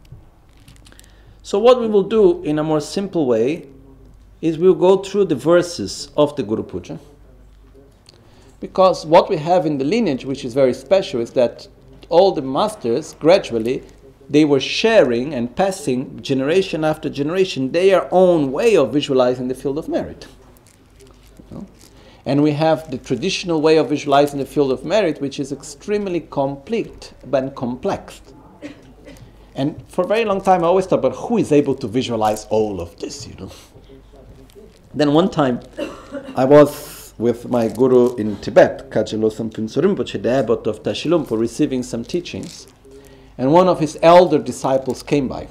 So what we will do in a more simple way is we'll go through the verses of the Guru Puja. Because what we have in the lineage, which is very special, is that all the masters, gradually, they were sharing and passing, generation after generation, their own way of visualizing the field of merit. You know? And we have the traditional way of visualizing the field of merit, which is extremely complete and complex. And for a very long time, I always thought about who is able to visualize all of this, you know. Then one time, I was with my guru in Tibet, Kache Losam Phuntsho Rinpoche, the abbot of Tashilhunpo, receiving some teachings. And one of his elder disciples came by.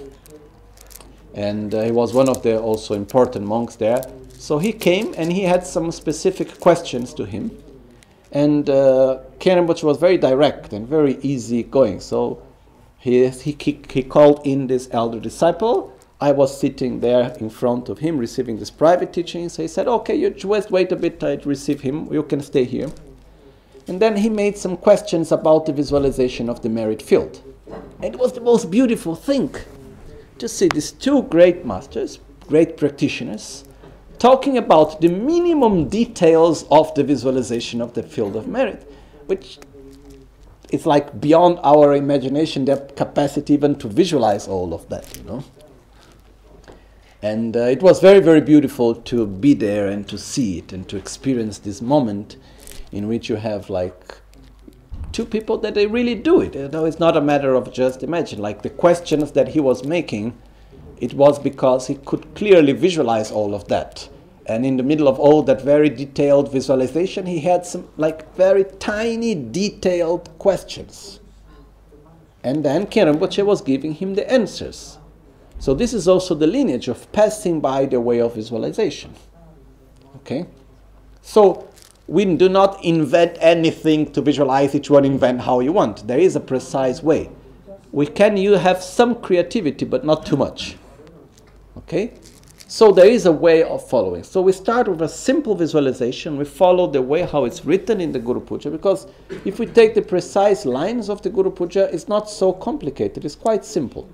And uh, he was one of the also important monks there. So he came and he had some specific questions to him. And uh, Khyentse Rinpoche was very direct and very easy going. So he, he, he called in this elder disciple. I was sitting there in front of him receiving this private teaching. So he said, okay, you just wait a bit, I'd receive him. You can stay here. And then he made some questions about the visualization of the merit field. And it was the most beautiful thing to see these two great masters, great practitioners, talking about the minimum details of the visualization of the field of merit, which is like beyond our imagination, their capacity even to visualize all of that, you know. And uh, it was very, very beautiful to be there and to see it and to experience this moment in which you have like two people that they really do it. You know, it's not a matter of just imagine. Like the questions that he was making, it was because he could clearly visualize all of that. And in the middle of all that very detailed visualization, he had some like very tiny detailed questions. And then Khyentse Rinpoche was giving him the answers. So this is also the lineage of passing by the way of visualization. Okay? So we do not invent anything to visualize, each one invent how you want. There is a precise way. We can you have some creativity, but not too much. Okay? So there is a way of following. So we start with a simple visualization. We follow the way how it's written in the Guru Puja, because if we take the precise lines of the Guru Puja, it's not so complicated. It's quite simple.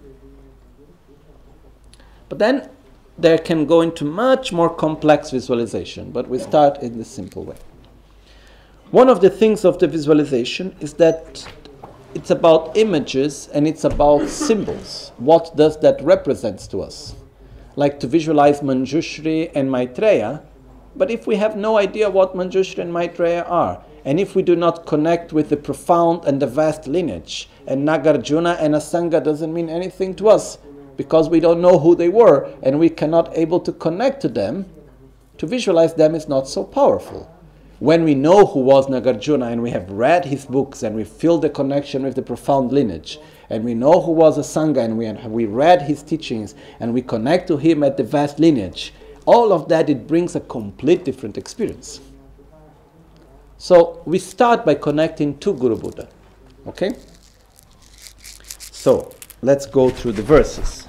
But then there can go into much more complex visualization, but we start in the simple way. One of the things of the visualization is that it's about images and it's about symbols. What does that represent to us? Like to visualize Manjushri and Maitreya, but if we have no idea what Manjushri and Maitreya are, and if we do not connect with the profound and the vast lineage, and Nagarjuna and Asanga doesn't mean anything to us, because we don't know who they were, and we cannot able to connect to them, to visualize them is not so powerful. When we know who was Nagarjuna, and we have read his books, and we feel the connection with the profound lineage, and we know who was Asanga, and we, we read his teachings, and we connect to him at the vast lineage, all of that, it brings a complete different experience. So we start by connecting to Guru Buddha. Okay? So let's go through the verses.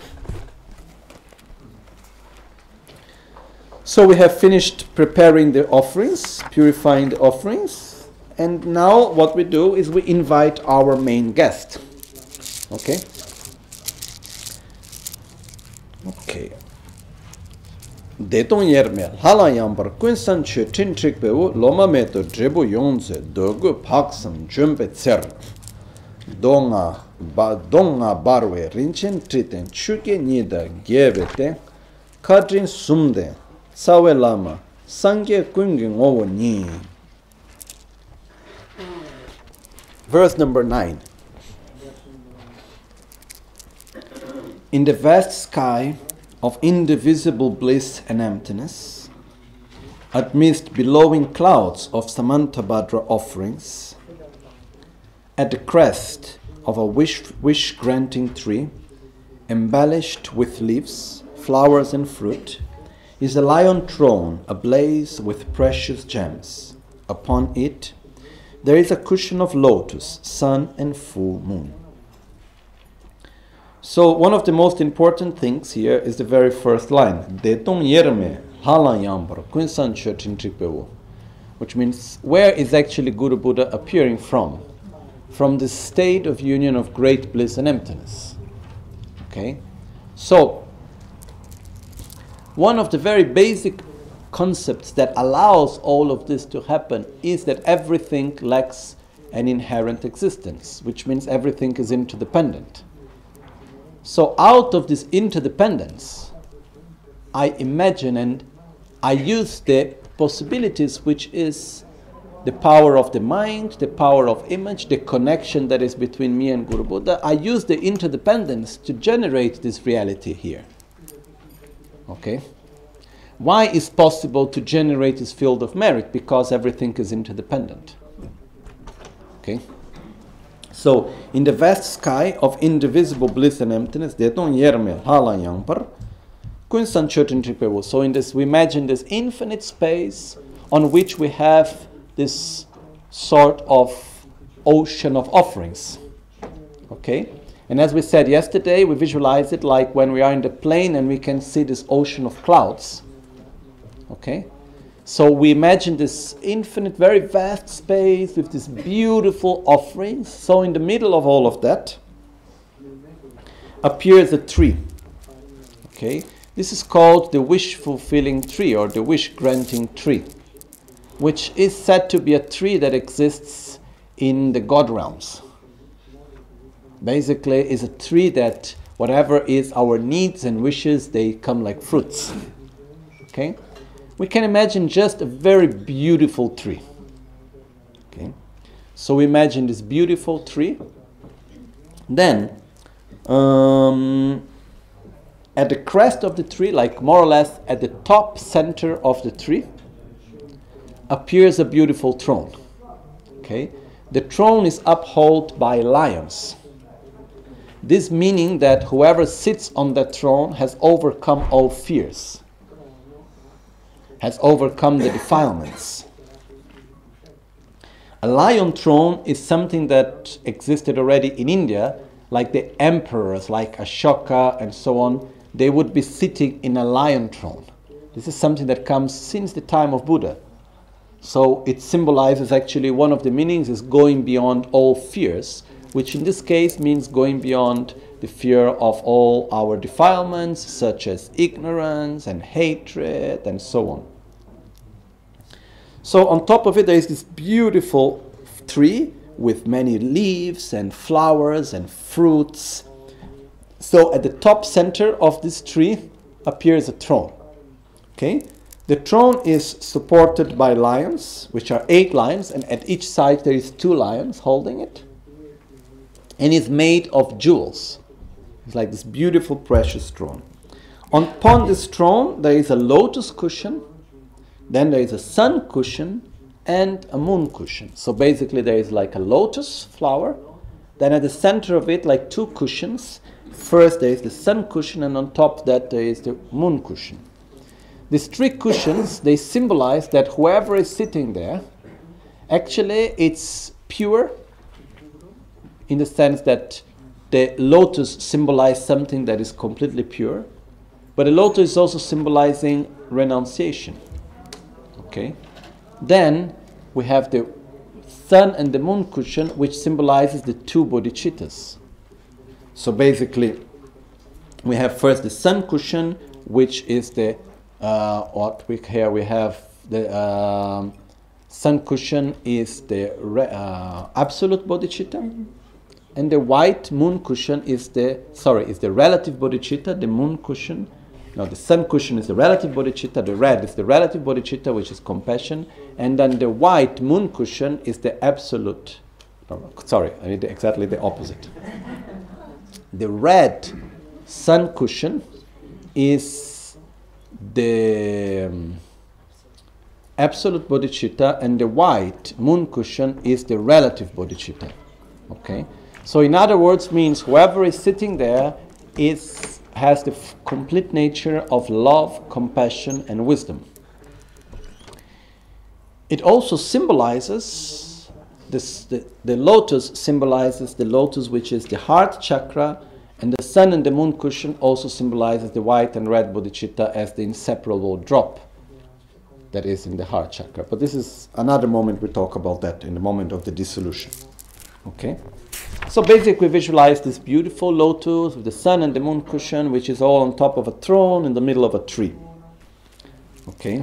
So we have finished preparing the offerings, purifying the offerings, and now what we do is we invite our main guest. Okay? Okay. Detong yerme hala yambar kunsan che tintrik bewu loma meto drebu yonze dogu paksam jumbe tser donga ba donga barwe rinchen triten chuke nida gebete kadrin sumde sawe lama sangye kungi ngowo ni. Verse number nine. In the vast sky of indivisible bliss and emptiness, amidst billowing clouds of Samantabhadra offerings, at the crest of a wish, wish-granting tree, embellished with leaves, flowers and fruit, is a lion throne ablaze with precious gems. Upon it, there is a cushion of lotus, sun and full moon. So one of the most important things here is the very first line, Detong yerme halan yambara kunsan churchin tripewo, which means where is actually Guru Buddha appearing from? From the state of union of great bliss and emptiness. Okay? So, one of the very basic concepts that allows all of this to happen is that everything lacks an inherent existence, which means everything is interdependent. So out of this interdependence, I imagine and I use the possibilities, which is the power of the mind, the power of image, the connection that is between me and Guru Buddha. I use the interdependence to generate this reality here. Okay? Why is possible to generate this field of merit? Because everything is interdependent. Okay? So, in the vast sky of indivisible bliss and emptiness, so in this, we imagine this infinite space on which we have this sort of ocean of offerings. Okay? And as we said yesterday, we visualize it like when we are in the plane and we can see this ocean of clouds. Okay? So we imagine this infinite, very vast space with these beautiful offerings. So in the middle of all of that appears a tree. Okay? This is called the wish-fulfilling tree or the wish-granting tree, which is said to be a tree that exists in the God realms. Basically, it's a tree that whatever is our needs and wishes, they come like fruits. Okay? We can imagine just a very beautiful tree. Okay? So we imagine this beautiful tree. Then, um, at the crest of the tree, like more or less at the top center of the tree, appears a beautiful throne. Okay? The throne is upheld by lions. This meaning that whoever sits on that throne has overcome all fears, has overcome the defilements. A lion throne is something that existed already in India, like the emperors, like Ashoka and so on, they would be sitting in a lion throne. This is something that comes since the time of Buddha. So it symbolizes actually one of the meanings is going beyond all fears, which in this case means going beyond the fear of all our defilements, such as ignorance and hatred and so on. So on top of it there is this beautiful tree with many leaves and flowers and fruits. So at the top center of this tree appears a throne. Okay? The throne is supported by lions, which are eight lions, and at each side there is two lions holding it. And it's made of jewels. It's like this beautiful, precious throne. Upon this throne, there is a lotus cushion, then there is a sun cushion, and a moon cushion. So basically there is like a lotus flower, then at the center of it, like two cushions. First there is the sun cushion, and on top of that there is the moon cushion. These three cushions, they symbolize that whoever is sitting there, actually it's pure, in the sense that the lotus symbolizes something that is completely pure, but the lotus is also symbolizing renunciation. Okay? Then we have the sun and the moon cushion, which symbolizes the two bodhicittas. So basically, we have first the sun cushion, which is the uh, what we here we have the um, sun cushion is the re, uh, absolute bodhicitta. And the white moon cushion is the, sorry, is the relative bodhicitta. The moon cushion, no, the sun cushion is the relative bodhicitta. The red is the relative bodhicitta, which is compassion. And then the white moon cushion is the absolute, no, sorry, I need exactly the opposite. The red sun cushion is the um, absolute bodhicitta, and the white moon cushion is the relative bodhicitta. Okay? So in other words, means whoever is sitting there is has the f- complete nature of love, compassion, and wisdom. It also symbolizes this, the, the lotus symbolizes the lotus, which is the heart chakra, and the sun and the moon cushion also symbolizes the white and red bodhicitta as the inseparable drop that is in the heart chakra. But this is another moment, we talk about that in the moment of the dissolution. Okay? So basically we visualize this beautiful lotus with the sun and the moon cushion, which is all on top of a throne in the middle of a tree. Okay?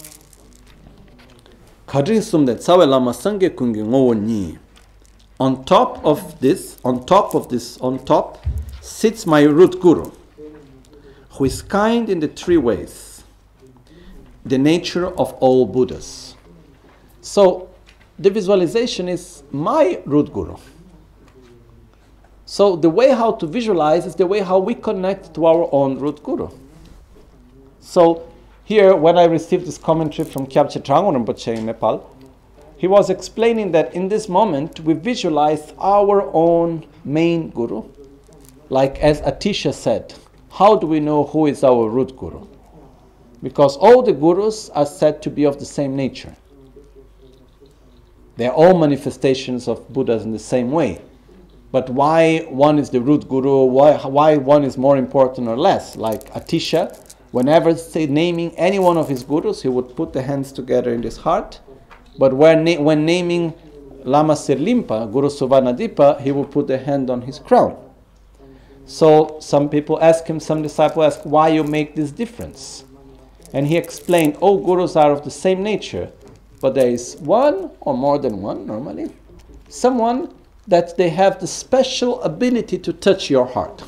On top of this, on top of this, on top sits my root guru, who is kind in the three ways, the nature of all Buddhas. So the visualization is my root guru. So the way how to visualize is the way how we connect to our own root guru. So here, when I received this commentary from Kyabche Trangul Rinpoche in Nepal, he was explaining that in this moment we visualize our own main guru. Like as Atisha said, how do we know who is our root guru? Because all the gurus are said to be of the same nature. They are all manifestations of Buddhas in the same way. But why one is the root guru, why, why one is more important or less? Like Atisha, whenever say naming any one of his gurus, he would put the hands together in his heart. But when, na- when naming Lama Sirlimpa, Guru Suvarnadipa, he would put the hand on his crown. So some people ask him, some disciples ask, why you make this difference? And he explained, all gurus are of the same nature, but there is one, or more than one normally, someone that they have the special ability to touch your heart.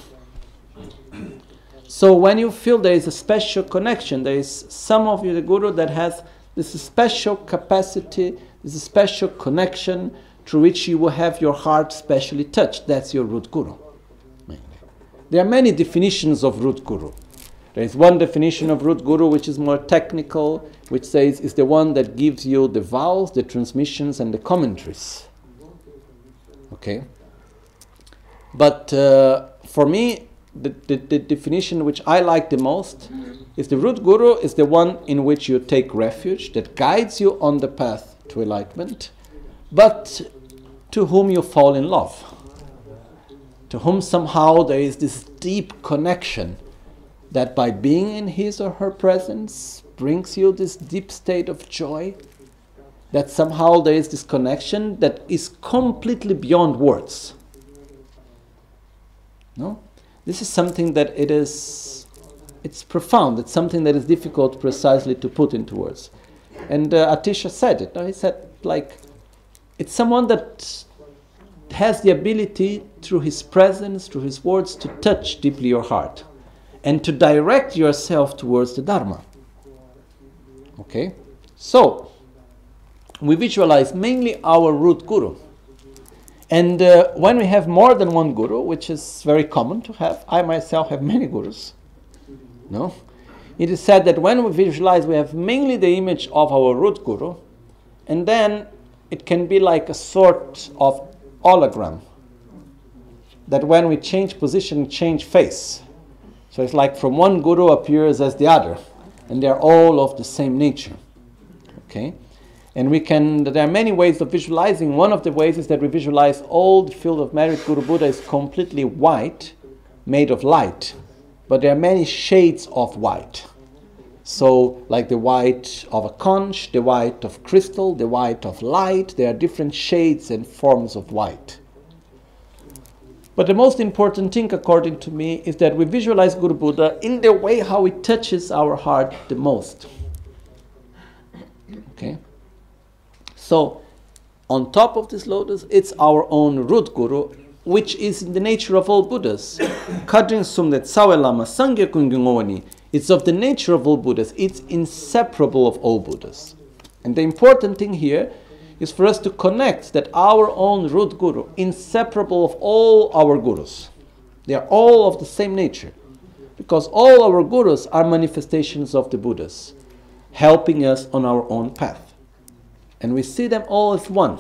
So when you feel there is a special connection, there is some of you, the guru, that has this special capacity, this special connection through which you will have your heart specially touched. That's your root guru. There are many definitions of root guru. There is one definition of root guru which is more technical, which says is the one that gives you the vows, the transmissions, and the commentaries. Okay? But uh, for me, the, the, the definition which I like the most is the root guru is the one in which you take refuge, that guides you on the path to enlightenment, but to whom you fall in love. To whom somehow there is this deep connection that by being in his or her presence brings you this deep state of joy, that somehow there is this connection that is completely beyond words. No? This is something that it is, it's profound, it's something that is difficult precisely to put into words. And uh, Atisha said it, no? He said, like, it's someone that has the ability through his presence, through his words, to touch deeply your heart and to direct yourself towards the Dharma. Okay? So, we visualize mainly our root guru. And uh, when we have more than one guru, which is very common to have, I myself have many gurus, no? It is said that when we visualize, we have mainly the image of our root guru, and then it can be like a sort of hologram, that when we change position, change face. So it's like from one guru appears as the other, and they're all of the same nature. Okay? And we can, there are many ways of visualizing. One of the ways is that we visualize all the field of merit. Guru Buddha is completely white, made of light, but there are many shades of white. So, like the white of a conch, the white of crystal, the white of light, there are different shades and forms of white. But the most important thing, according to me, is that we visualize Guru Buddha in the way how it touches our heart the most. Okay? So, on top of this lotus, it's our own root guru, which is in the nature of all Buddhas. Kadrin Sumdet Sawe Lama Sangye Kungyungowani. It's of the nature of all Buddhas. It's inseparable of all Buddhas. And the important thing here is for us to connect that our own root guru, inseparable of all our gurus. They are all of the same nature. Because all our gurus are manifestations of the Buddhas, helping us on our own path. And we see them all as one,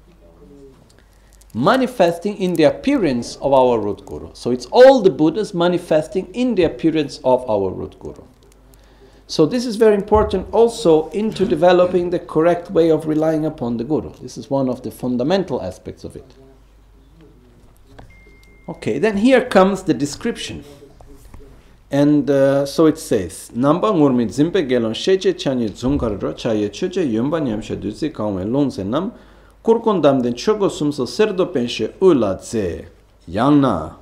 manifesting in the appearance of our root guru. So it's all the Buddhas manifesting in the appearance of our root guru. So this is very important also into developing the correct way of relying upon the Guru. This is one of the fundamental aspects of it. Okay, then here comes the description. And uh, so it says, Namba ngurmi zimpe gelon sheche chanye zungarro chaye chuche yumba nyamshe duzi kaunwe longze nam kurkon damden chogo sumso serdo penshe ula tse yangna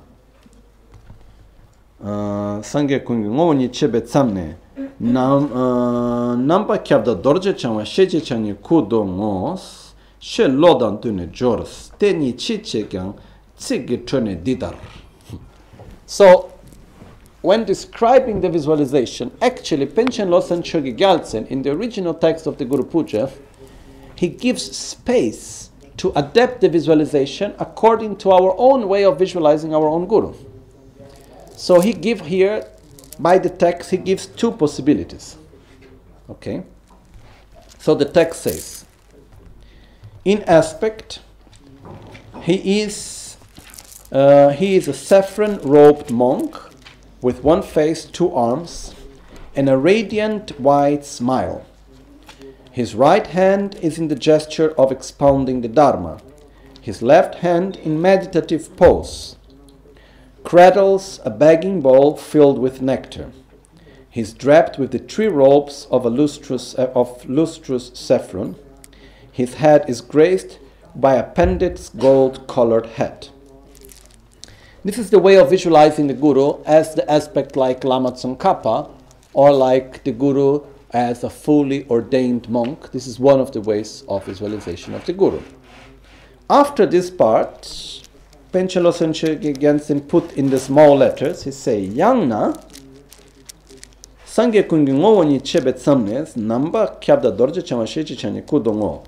sangye kungi ngoni chebe tsamne nam namba kyabda dorje changwa sheche chanye kudo ngos she lodan tune jors teni chiche kyang tsige tune didar. So when describing the visualization, actually Panchen Losang Chogi Gyaltsen, in the original text of the Guru Puja, he gives space to adapt the visualization according to our own way of visualizing our own Guru. So he gives here, by the text, he gives two possibilities. Okay? So the text says, in aspect, he is, uh, he is a saffron-robed monk with one face, two arms, and a radiant white smile. His right hand is in the gesture of expounding the Dharma. His left hand in meditative pose cradles a begging bowl filled with nectar. He is draped with the three robes of a lustrous, uh, of lustrous saffron. His head is graced by a pandit's gold-colored hat. This is the way of visualizing the Guru as the aspect like Lama Tsongkhapa, or like the Guru as a fully ordained monk. This is one of the ways of visualization of the Guru. After this part, Panchen Losang Chogi Gyaltsen put in the small letters, he say, Yangna, Sangye kungi ngo ni chebe tsamnes, namba kyabda dorje chama shechi chanye kudongo.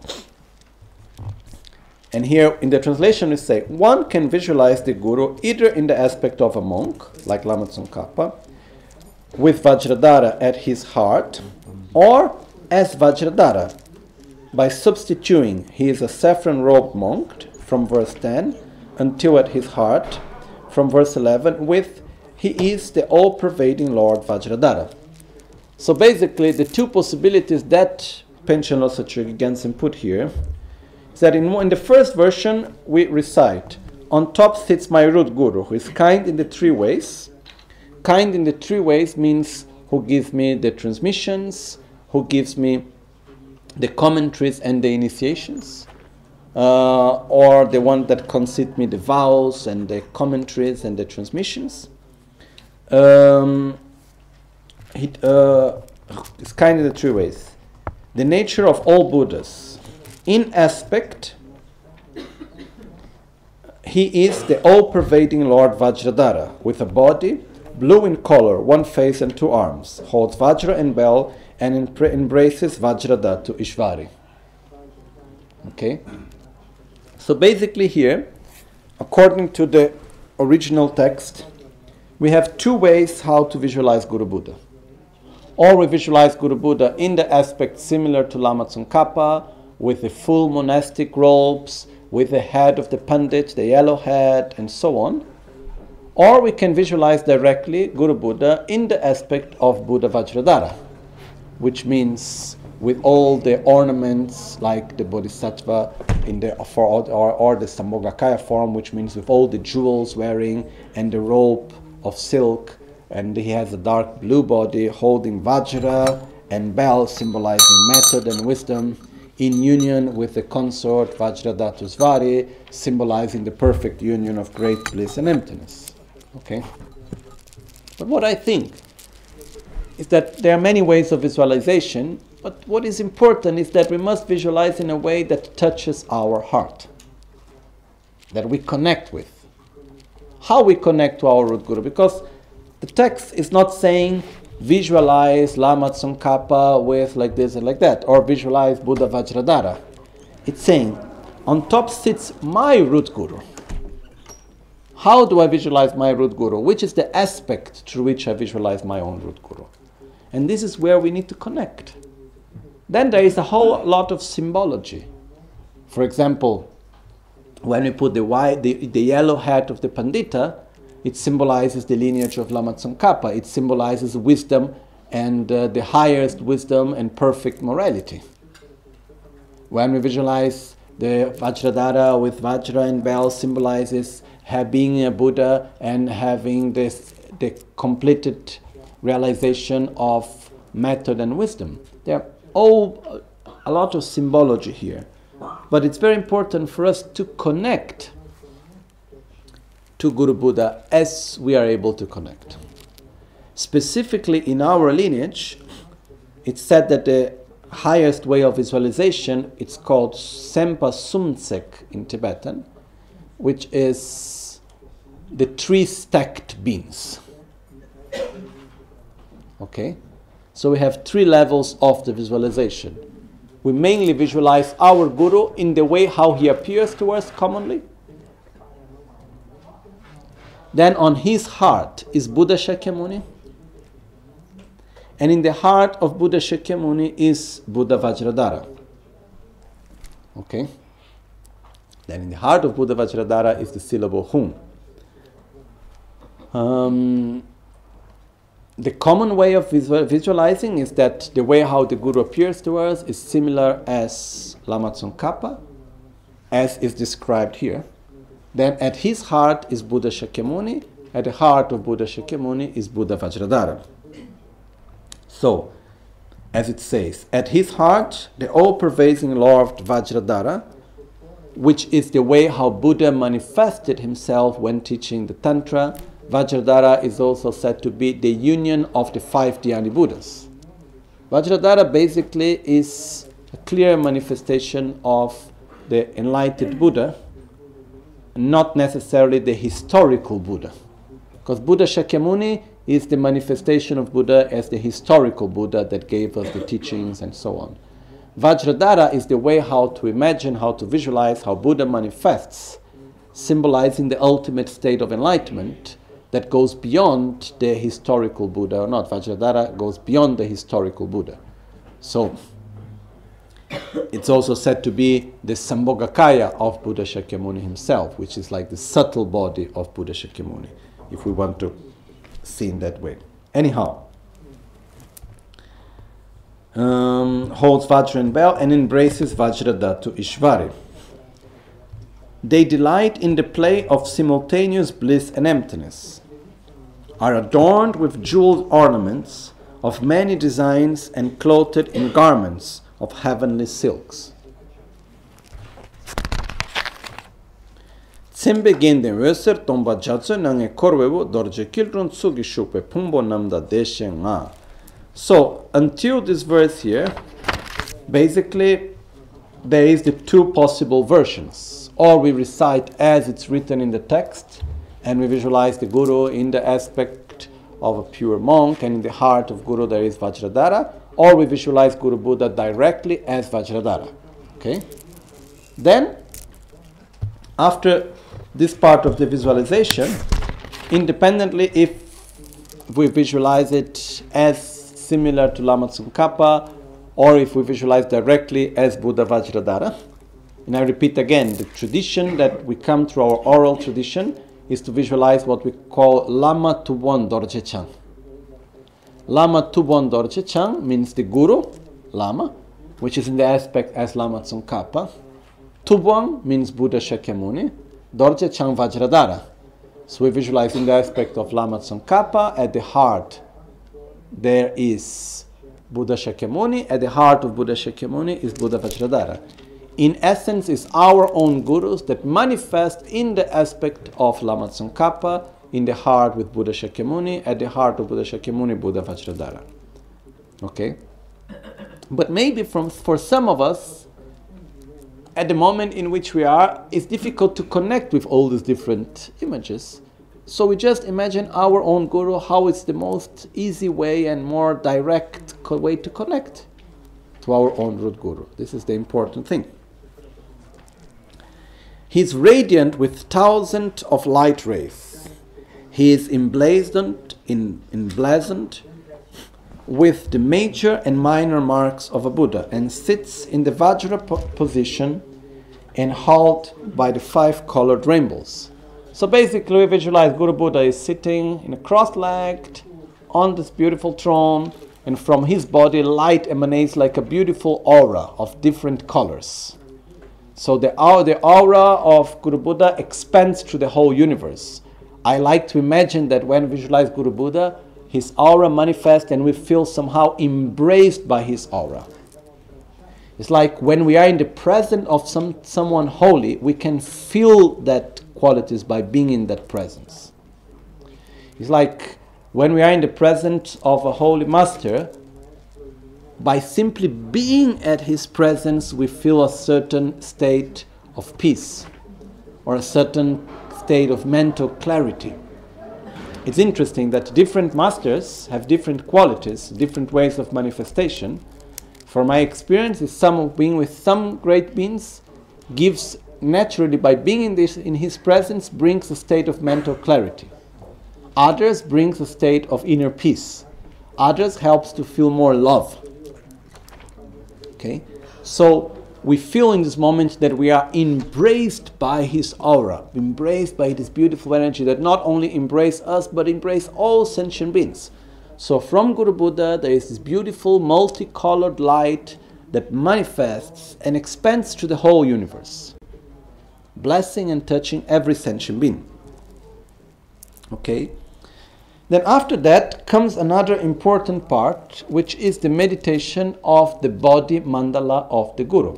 And here in the translation we say, one can visualize the Guru either in the aspect of a monk, like Lama Tsongkhapa, with Vajradhara at his heart, or as Vajradhara, by substituting he is a saffron-robed monk from verse ten until at his heart, from verse eleven, with he is the all-pervading Lord Vajradhara. So basically the two possibilities that Panchen Losang Chogi Gyaltsen put here is that in, in the first version we recite, on top sits my root Guru, who is kind in the three ways. Kind in the three ways means who gives me the transmissions, who gives me the commentaries and the initiations, uh, or the one that concede me the vows and the commentaries and the transmissions. Um, it, uh, it's kind in the three ways. The nature of all Buddhas. In aspect, he is the all-pervading Lord Vajradhara, with a body, blue in color, one face and two arms, holds Vajra and bell, and empre- embraces Vajradhatu Ishvari. Okay? So basically here, according to the original text, we have two ways how to visualize Guru Buddha. Or we visualize Guru Buddha in the aspect similar to Lama Tsongkhapa, with the full monastic robes, with the head of the pandit, the yellow head, and so on. Or we can visualize directly Guru Buddha in the aspect of Buddha Vajradhara, which means with all the ornaments like the Bodhisattva in the for or, or the Sambhogakaya form, which means with all the jewels wearing and the robe of silk, and he has a dark blue body holding Vajra and bell symbolizing method and wisdom, in union with the consort Vajradhatu symbolizing the perfect union of great bliss and emptiness. Okay? But what I think is that there are many ways of visualization, but what is important is that we must visualize in a way that touches our heart, that we connect with. How we connect to our root Guru? Because the text is not saying visualize Lama Tsongkhapa with like this and like that, or visualize Buddha Vajradhara. It's saying, on top sits my root Guru. How do I visualize my root Guru? Which is the aspect through which I visualize my own root Guru? And this is where we need to connect. Then there is a whole lot of symbology. For example, when we put the white, the, the yellow hat of the Pandita, it symbolizes the lineage of Lama Tsongkhapa. It symbolizes wisdom and uh, the highest wisdom and perfect morality. When we visualize the Vajradhara with Vajra and bell symbolizes being a Buddha and having this the completed realization of method and wisdom. There are all a lot of symbology here, but it's very important for us to connect to Guru Buddha as we are able to connect. Specifically in our lineage, it's said that the highest way of visualization, it's called Sempa Sumtsek in Tibetan, which is the three stacked beans. Okay? So we have three levels of the visualization. We mainly visualize our Guru in the way how he appears to us commonly. Then on his heart is Buddha Shakyamuni. And in the heart of Buddha Shakyamuni is Buddha Vajradhara. Okay? Then in the heart of Buddha Vajradhara is the syllable Hum. Um, the common way of visual, visualizing is that the way how the Guru appears to us is similar as Lama Tsongkhapa, as is described here. Then at his heart is Buddha Shakyamuni. At the heart of Buddha Shakyamuni is Buddha Vajradhara. So, as it says, at his heart, the all-pervading Lord Vajradhara, which is the way how Buddha manifested himself when teaching the Tantra. Vajradhara is also said to be the union of the five Dhyani Buddhas. Vajradhara basically is a clear manifestation of the enlightened Buddha, not necessarily the historical Buddha. Because Buddha Shakyamuni is the manifestation of Buddha as the historical Buddha that gave us the teachings and so on. Vajradhara is the way how to imagine, how to visualize how Buddha manifests, symbolizing the ultimate state of enlightenment that goes beyond the historical Buddha or not. Vajradhara goes beyond the historical Buddha. So, it's also said to be the Sambhogakaya of Buddha Shakyamuni himself, which is like the subtle body of Buddha Shakyamuni, if we want to see in that way. Anyhow, um, holds Vajra and bell and embraces Vajradhatu Ishvari. They delight in the play of simultaneous bliss and emptiness, are adorned with jeweled ornaments of many designs and clothed in garments of heavenly silks. Tsembe gende wöser tomba jatsu nange korwebu dorje kilrun tsugi shukwe pumbo namda deshe nga. So, until this verse here, basically, there is the two possible versions. Or we recite as it's written in the text, and we visualize the Guru in the aspect of a pure monk, and in the heart of Guru there is Vajradhara, or we visualize Guru Buddha directly as Vajradhara. Okay? Then, after this part of the visualization, independently if we visualize it as similar to Lama Tsongkhapa, or if we visualize directly as Buddha Vajradhara. And I repeat again, the tradition that we come through our oral tradition is to visualize what we call Lama Tubon Dorje Chang. Lama Tubon Dorje Chang means the Guru, Lama, which is in the aspect as Lama Tsongkhapa. Tubon means Buddha Shakyamuni. Dorje Chang Vajradhara. So we visualize in the aspect of Lama Tsongkhapa, at the heart there is Buddha Shakyamuni, at the heart of Buddha Shakyamuni is Buddha Vajradhara. In essence, it's our own gurus that manifest in the aspect of Lama Tsongkhapa, in the heart with Buddha Shakyamuni, at the heart of Buddha Shakyamuni, Buddha Vajradhara. Okay? But maybe from, for some of us, at the moment in which we are, it's difficult to connect with all these different images. So we just imagine our own Guru, how it's the most easy way and more direct co- way to connect to our own root Guru. This is the important thing. He is radiant with thousands of light rays. He is emblazoned, in, emblazoned with the major and minor marks of a Buddha and sits in the Vajra po- position and held by the five colored rainbows. So basically we visualize Guru Buddha is sitting in a cross-legged on this beautiful throne and from his body light emanates like a beautiful aura of different colors. So the aura, the aura of Guru Buddha expands through the whole universe. I like to imagine that when we visualize Guru Buddha, his aura manifests and we feel somehow embraced by his aura. It's like when we are in the presence of some someone holy, we can feel that qualities by being in that presence. It's like when we are in the presence of a holy master, by simply being at his presence, we feel a certain state of peace or a certain state of mental clarity. It's interesting that different masters have different qualities, different ways of manifestation. From my experience, is some being with some great beings gives naturally, by being in this in his presence, brings a state of mental clarity. Others brings a state of inner peace. Others helps to feel more love. Okay, so we feel in this moment that we are embraced by his aura, embraced by this beautiful energy that not only embrace us but embrace all sentient beings. So from Guru Buddha there is this beautiful multicolored light that manifests and expands to the whole universe, blessing and touching every sentient being. Okay. Then after that comes another important part, which is the meditation of the body mandala of the Guru.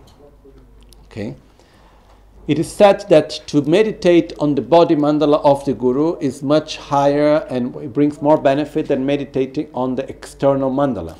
Okay. It is said that to meditate on the body mandala of the Guru is much higher and it brings more benefit than meditating on the external mandala.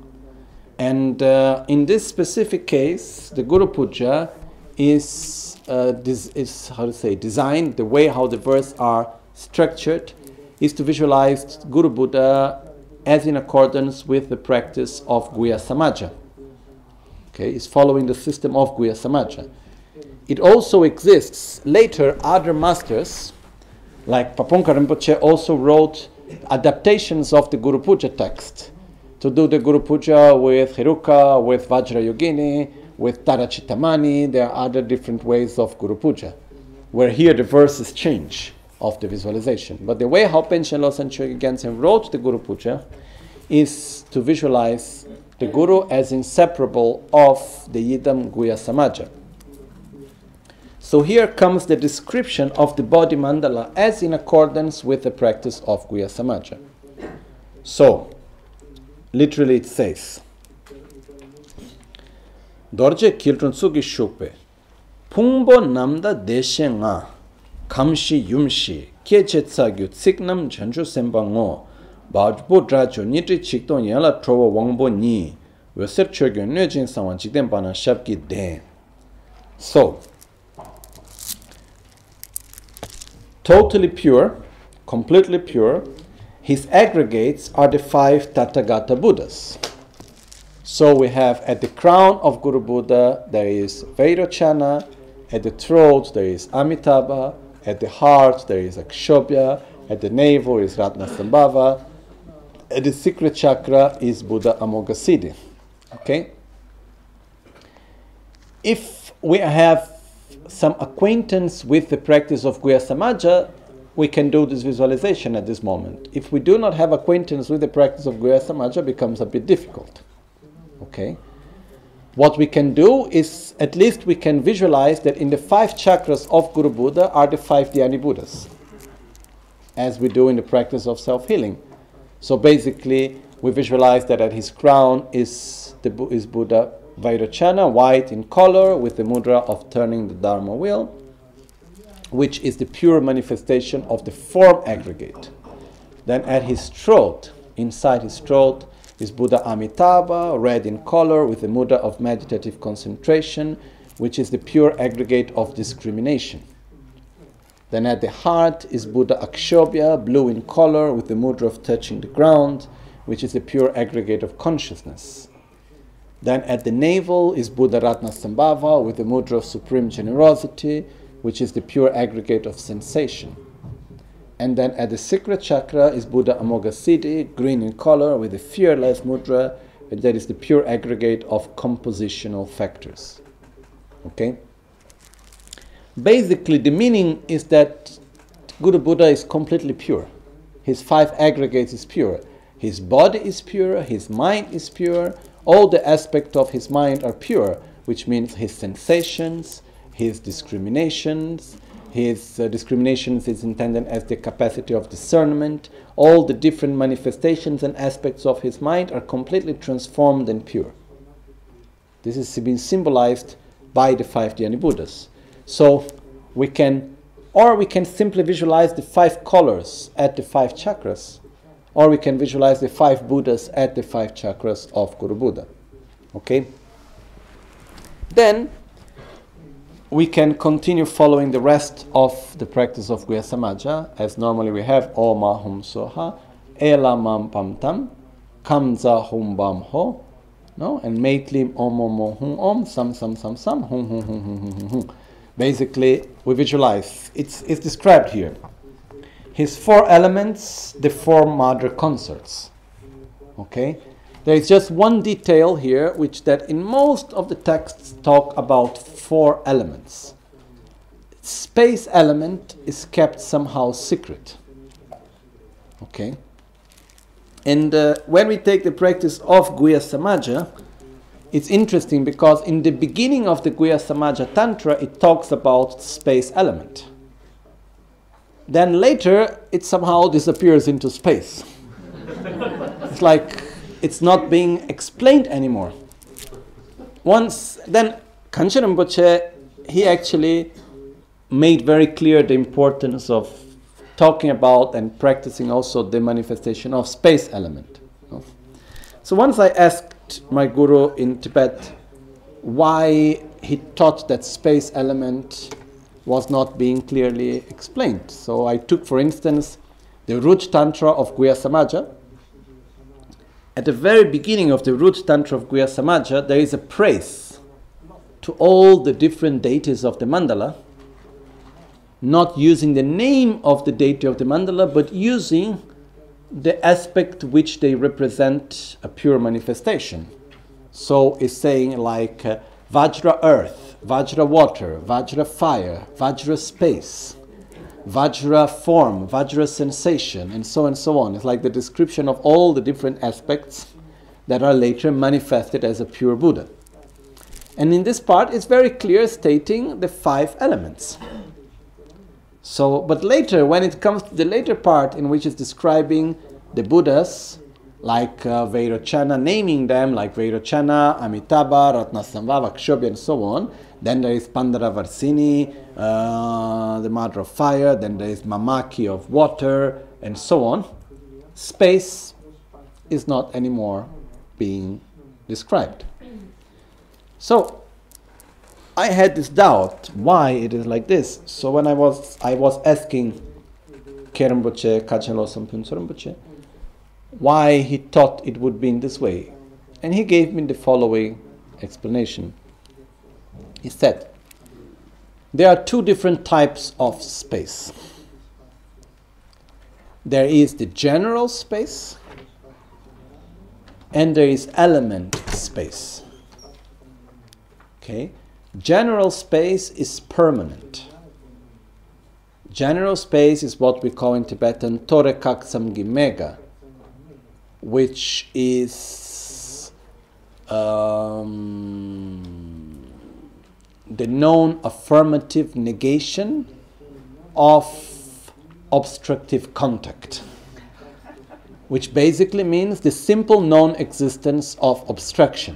And uh, in this specific case, the Guru Puja is, uh, this is how to say, designed, the way how the verses are structured, is to visualize Guru Buddha as in accordance with the practice of Guhya Samaja. Okay, it's following the system of Guhya Samaja. It also exists later other masters, like Pabongka Rinpoche also wrote adaptations of the Guru Puja text to do the Guru Puja with Heruka, with Vajrayogini, with Tara Chittamani. There are other different ways of Guru Puja, where here the verses change of the visualization. But the way how Panchen Losang Chögyal Gyaltsen wrote the Guru Puja is to visualize the Guru as inseparable of the Yidam Guhya Samaja. So here comes the description of the body mandala as in accordance with the practice of Guhya Samaja. So, literally it says, Dorje Kiltun Tsugi Shukpe, Pungbo Namda Deshe Nga, Kamshi Yumshi, Kyeche Tsagyu Tsiknam Chanchu Sembango, Bajbo Dracho Nitri Chikton Yala Trova Wangbo Ni, Weser Chögyal Nyöjin Sawan Chikden Bana Shabki Den. So, totally pure, completely pure, his aggregates are the five Tathagata Buddhas. So we have at the crown of Guru Buddha there is Vairocana, at the throat there is Amitabha, at the heart there is Akshobhya, at the navel is Ratnasambhava, at the secret chakra is Buddha Amoghasiddhi. Okay? If we have some acquaintance with the practice of Guhya Samaja, we can do this visualization at this moment. If we do not have acquaintance with the practice of Guhya Samaja, it becomes a bit difficult. Okay? What we can do is, at least we can visualize that in the five chakras of Guru Buddha are the five Dhyani Buddhas, as we do in the practice of self-healing. So basically, we visualize that at his crown is, the, is Buddha Vairocana, white in color, with the mudra of turning the Dharma wheel, which is the pure manifestation of the form aggregate. Then at his throat, inside his throat, is Buddha Amitabha, red in color, with the mudra of meditative concentration, which is the pure aggregate of discrimination. Then at the heart is Buddha Akshobhya, blue in color, with the mudra of touching the ground, which is the pure aggregate of consciousness. Then at the navel is Buddha Ratnasambhava, with the mudra of supreme generosity, which is the pure aggregate of sensation. And then at the secret chakra is Buddha Amoghasiddhi, green in color, with the fearless mudra, and that is the pure aggregate of compositional factors. Okay? Basically, the meaning is that Guru Buddha is completely pure. His five aggregates is pure. His body is pure, his mind is pure, all the aspects of his mind are pure, which means his sensations, his discriminations, his uh, discriminations is intended as the capacity of discernment, all the different manifestations and aspects of his mind are completely transformed and pure. This is being symbolized by the five Dhyani Buddhas. So we can, or we can simply visualize the five colors at the five chakras, or we can visualize the five Buddhas at the five chakras of Guru Buddha. Okay? Then we can continue following the rest of the practice of Guhya Samaja, as normally we have Om Ahum Soha, Elamam Pam Tam, Kamza Hum Bam Ho, no? And Maitlim Om Om Om Hum Om, Sam Sam Sam Sam, Hum Hum Hum Hum Hum Hum Hum. Basically, we visualize, it's, it's described here. His four elements, the four mother concerts. Okay? There is just one detail here, which that in most of the texts talk about four elements. Space element is kept somehow secret. Okay? And uh, when we take the practice of Guhya Samaja, it's interesting because in the beginning of the Guhya Samaja Tantra, it talks about space element. Then later, it somehow disappears into space. It's like it's not being explained anymore. Once, then Kanchen Rinpoche, he actually made very clear the importance of talking about and practicing also the manifestation of space element. So once I asked my guru in Tibet why he thought that space element was not being clearly explained. So I took, for instance, the Root Tantra of Guhya Samaja. At the very beginning of the Root Tantra of Guhya Samaja, there is a praise to all the different deities of the mandala, not using the name of the deity of the mandala, but using the aspect which they represent a pure manifestation. So it's saying like uh, Vajra earth, Vajra water, Vajra fire, Vajra space, Vajra form, Vajra sensation, and so on and so on. It's like the description of all the different aspects that are later manifested as a pure Buddha. And in this part, it's very clear stating the five elements. So, but later, when it comes to the later part in which it's describing the Buddhas, like uh, Vairocana, naming them like Vairocana, Amitabha, Ratnasambhava, Akshobhya, and so on. Then there is Pandharavarsini, uh, the mother of fire. Then there is Mamaki of water, and so on. Space is not anymore being described. So I had this doubt why it is like this. So when I was I was asking Kheram Rinpoche, Kachin Losam Phuntsar Rinpoche, why he thought it would be in this way. And he gave me the following explanation. He said, there are two different types of space. There is the general space, and there is element space. Okay? General space is permanent. General space is what we call in Tibetan Torekak Samgimega, which is um, the known affirmative negation of obstructive contact, which basically means the simple non-existence of obstruction.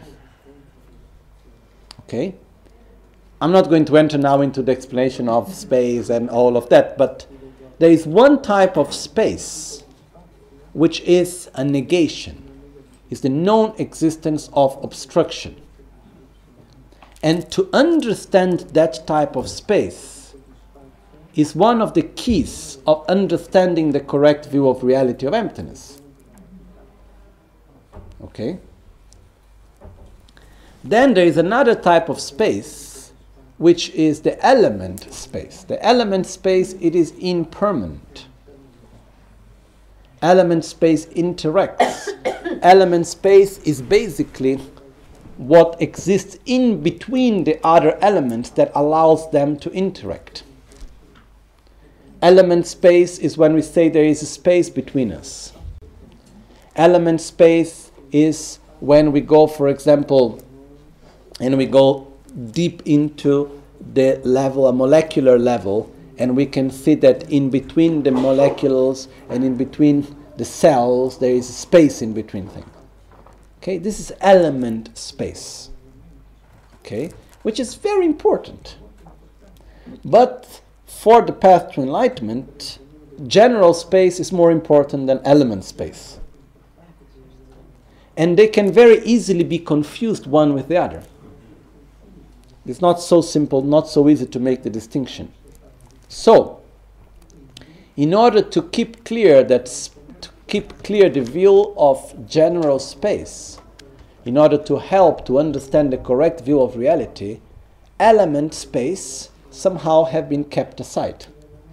Okay? I'm not going to enter now into the explanation of space and all of that, but there is one type of space which is a negation, is the non-existence of obstruction. And to understand that type of space is one of the keys of understanding the correct view of reality of emptiness. Okay? Then there is another type of space, which is the element space. The element space, it is impermanent. Element space interacts. Element space is basically what exists in between the other elements that allows them to interact. Element space is when we say there is a space between us. Element space is when we go, for example, and we go deep into the level, a molecular level, and we can see that in between the molecules and in between the cells, there is space in between things. Okay, this is element space. Okay, which is very important. But for the path to enlightenment, general space is more important than element space. And they can very easily be confused one with the other. It's not so simple, not so easy to make the distinction. So, in order to keep clear that to keep clear the view of general space, in order to help to understand the correct view of reality, element space somehow have been kept aside.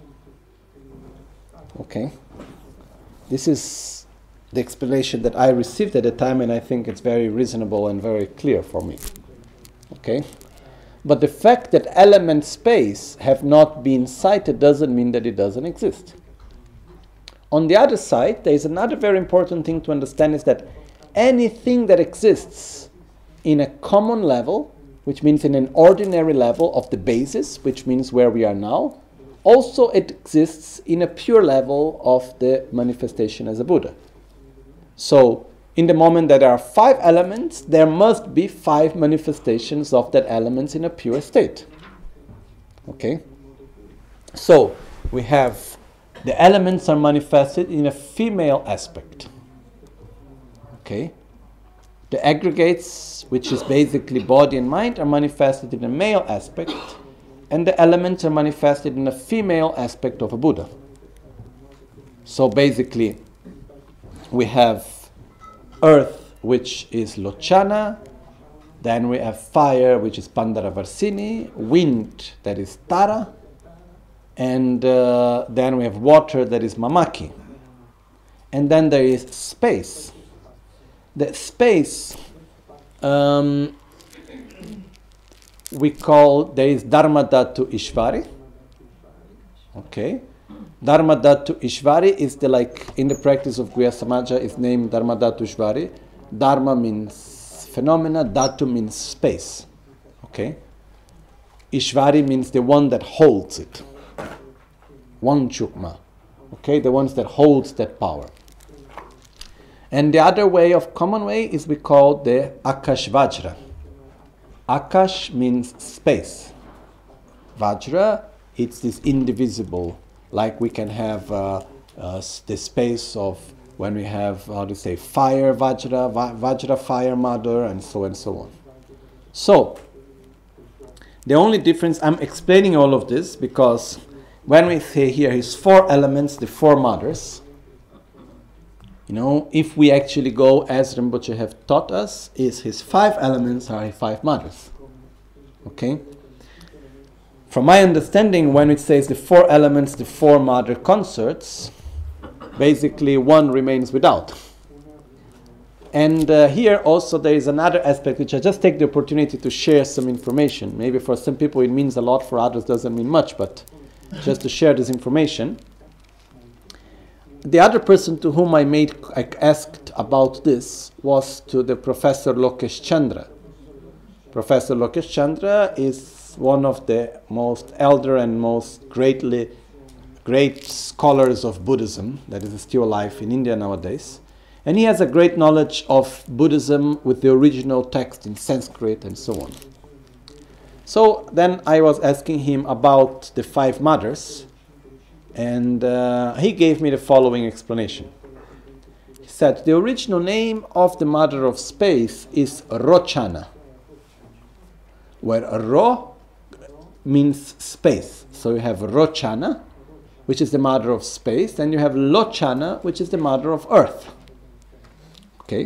Okay? This is the explanation that I received at the time, and I think it's very reasonable and very clear for me. Okay? But the fact that element space have not been cited doesn't mean that it doesn't exist. On the other side, there is another very important thing to understand, is that anything that exists in a common level, which means in an ordinary level of the basis, which means where we are now, also it exists in a pure level of the manifestation as a Buddha. So, in the moment that there are five elements, there must be five manifestations of that elements in a pure state. Okay? So, we have the elements are manifested in a female aspect. Okay? The aggregates, which is basically body and mind, are manifested in a male aspect, and the elements are manifested in a female aspect of a Buddha. So basically, we have earth, which is Lochana, then we have fire, which is Pandaravarsini, wind, that is Tara, and uh, then we have water, that is Mamaki. And then there is space. The space um, we call, there is Dharmadhatu Ishvari. Okay. Dharmadhatu Ishvari is the, like, in the practice of Guhya Samaja, is named Dharmadhatu Ishvari. Dharma means phenomena, Dhatu means space. Okay. Ishvari means the one that holds it. One Chukma. Okay, the ones that holds that power. And the other way of common way is we call the Akash Vajra. Akash means space. Vajra, it's this indivisible, like we can have uh, uh, the space of when we have, how do you say, fire Vajra, va- Vajra fire mother, and so and so on. So, the only difference, I'm explaining all of this because when we say here his four elements, the four mothers, you know, if we actually go as Rinpoche have taught us, is his five elements are his five mothers. Okay? From my understanding, when it says the four elements, the four mother consorts, basically one remains without. And uh, here also there is another aspect which I just take the opportunity to share some information. Maybe for some people it means a lot, for others doesn't mean much, but just to share this information. The other person to whom I made I asked about this was to the Professor Lokesh Chandra. Professor Lokesh Chandra is one of the most elder and most greatly great scholars of Buddhism that is still alive in India nowadays. And he has a great knowledge of Buddhism with the original text in Sanskrit and so on. So then I was asking him about the five mothers, and uh, he gave me the following explanation. He said, the original name of the mother of space is Rochana, where Ro means space. So you have Rochana, which is the mother of space, and you have Lochana, which is the mother of earth. Okay?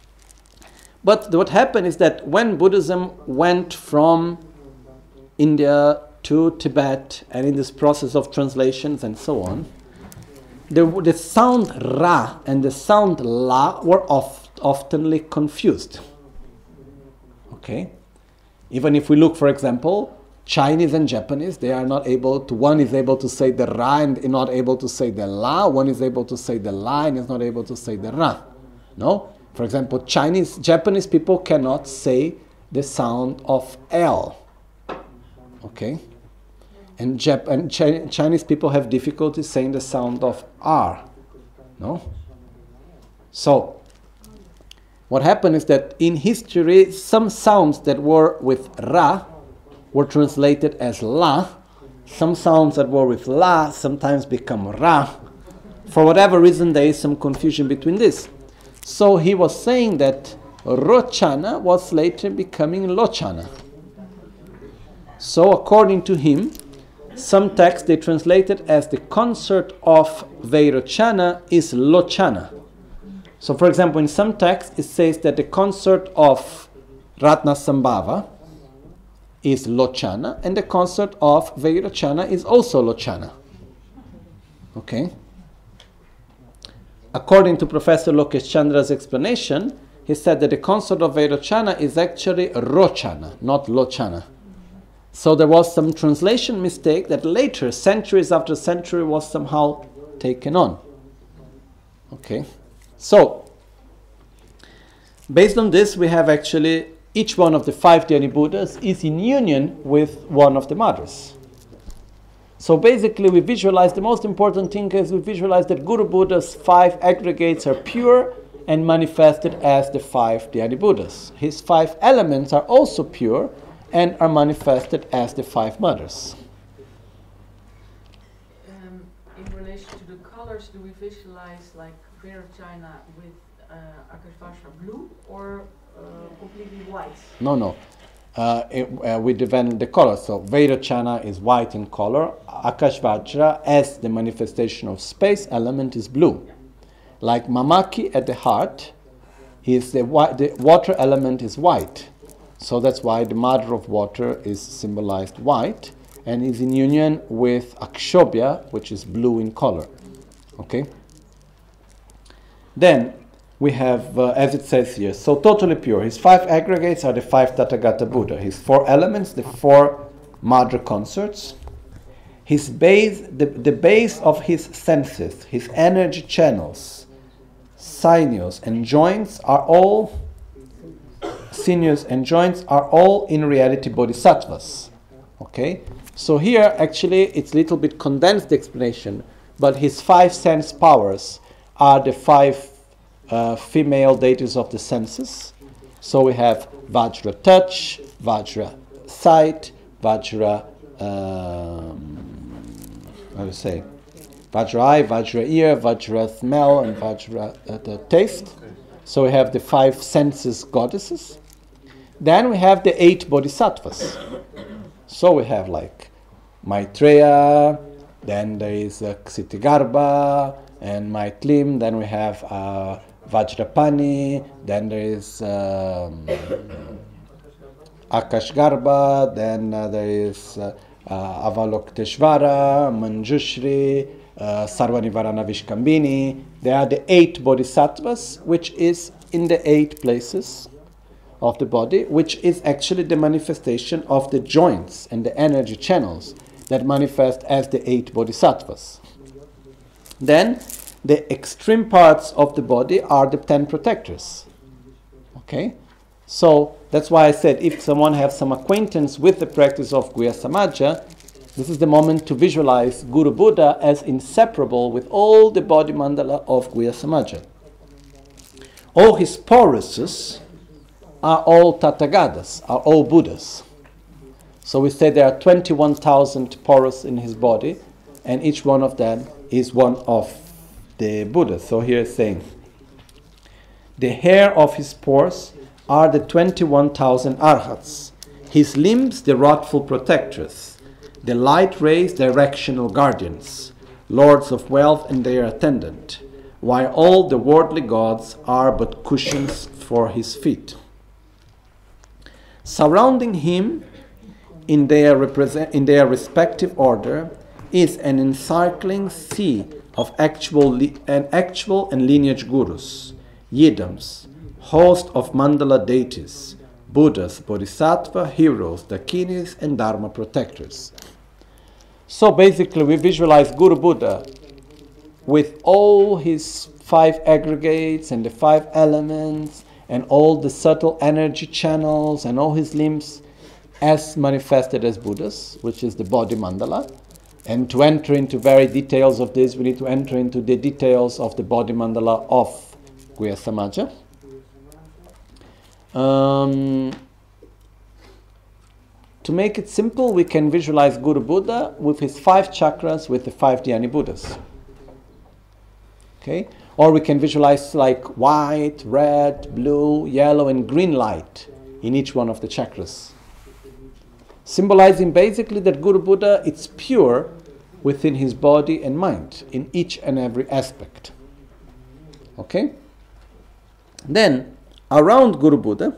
But what happened is that when Buddhism went from India to Tibet, and in this process of translations and so on, the, the sound Ra and the sound La were oft, oftenly confused. Okay? Even if we look, for example, Chinese and Japanese, they are not able to, one is able to say the Ra and not able to say the La, one is able to say the La and is not able to say the Ra. No? For example, Chinese, Japanese people cannot say the sound of L. Okay? And, Jap- and Chi- Chinese people have difficulty saying the sound of R. No? So, what happened is that in history, some sounds that were with Ra were translated as La. Some sounds that were with La sometimes become Ra. For whatever reason, there is some confusion between this. So he was saying that Rochana was later becoming Lochana. So according to him, some texts they translated as the consort of Vairochana is Lochana. So for example, in some texts it says that the consort of Ratnasambhava is Lochana and the consort of Vairochana is also Lochana. Okay? According to Professor Lokesh Chandra's explanation, he said that the consort of Vairochana is actually Rochana, not Lochana. So there was some translation mistake that later, centuries after century, was somehow taken on. Okay? So, based on this, we have actually each one of the five Dhyani Buddhas is in union with one of the mothers. So basically, we visualize, the most important thing is we visualize that Guru Buddha's five aggregates are pure and manifested as the five Dhyani Buddhas. His five elements are also pure and are manifested as the five mothers.
Um, in relation to the colors, do we visualize like Vairochana with uh, Akashvajra blue or uh, completely white?
No, no. Uh, it, uh, we develop the color. So Vairochana is white in color. Akashvajra, as the manifestation of space element, is blue. Like Mamaki at the heart, is the, wi- the water element is white. So that's why the mother of water is symbolized white and is in union with Akshobhya, which is blue in color. Okay? Then we have, uh, as it says here, so totally pure. His five aggregates are the five Tathagata Buddha. His four elements, the four mother consorts. His base, the, the base of his senses, his energy channels, sinews and joints are all sinews and joints are all in reality bodhisattvas. Okay? So here actually it's a little bit condensed explanation, but his five sense powers are the five uh, female deities of the senses. So we have Vajra touch, Vajra sight, Vajra um, how do you say? Vajra eye, Vajra ear, Vajra smell, and Vajra uh, the taste. So we have the five senses goddesses. Then we have the eight bodhisattvas. So we have like Maitreya, then there is uh, Ksitigarbha and Maitlim, then we have uh, Vajrapani, then there is um, Akashgarbha, then uh, there is uh, uh, Avalokteshvara, Manjushri, uh, Sarvanivarana Vishkambini. They are the eight bodhisattvas, which is in the eight places of the body, which is actually the manifestation of the joints and the energy channels that manifest as the eight bodhisattvas. Then, the extreme parts of the body are the ten protectors. Okay? So, that's why I said if someone has some acquaintance with the practice of Guhya Samaja, this is the moment to visualize Guru Buddha as inseparable with all the body mandala of Guhya Samaja. All his poruses are all Tathagatas, are all Buddhas. So we say there are twenty-one thousand porous in his body, and each one of them is one of the Buddhas. So here it's saying, the hair of his pores are the twenty-one thousand arhats, his limbs the wrathful protectors, the light rays directional guardians, lords of wealth and their attendant, while all the worldly gods are but cushions for his feet. Surrounding him in their, represent, in their respective order is an encircling sea of actual, li- and actual and lineage gurus, yidams, host of mandala deities, Buddhas, Bodhisattva, heroes, dakinis, and Dharma protectors. So basically we visualize Guru Buddha with all his five aggregates and the five elements and all the subtle energy channels and all his limbs as manifested as Buddhas, which is the body mandala. And to enter into very details of this, we need to enter into the details of the body mandala of Guhya Samaja. Um, to make it simple, we can visualize Guru Buddha with his five chakras with the five Dhyani Buddhas. Okay? Or we can visualize like white, red, blue, yellow and green light in each one of the chakras. Symbolizing basically that Guru Buddha is pure within his body and mind in each and every aspect. Okay? Then, around Guru Buddha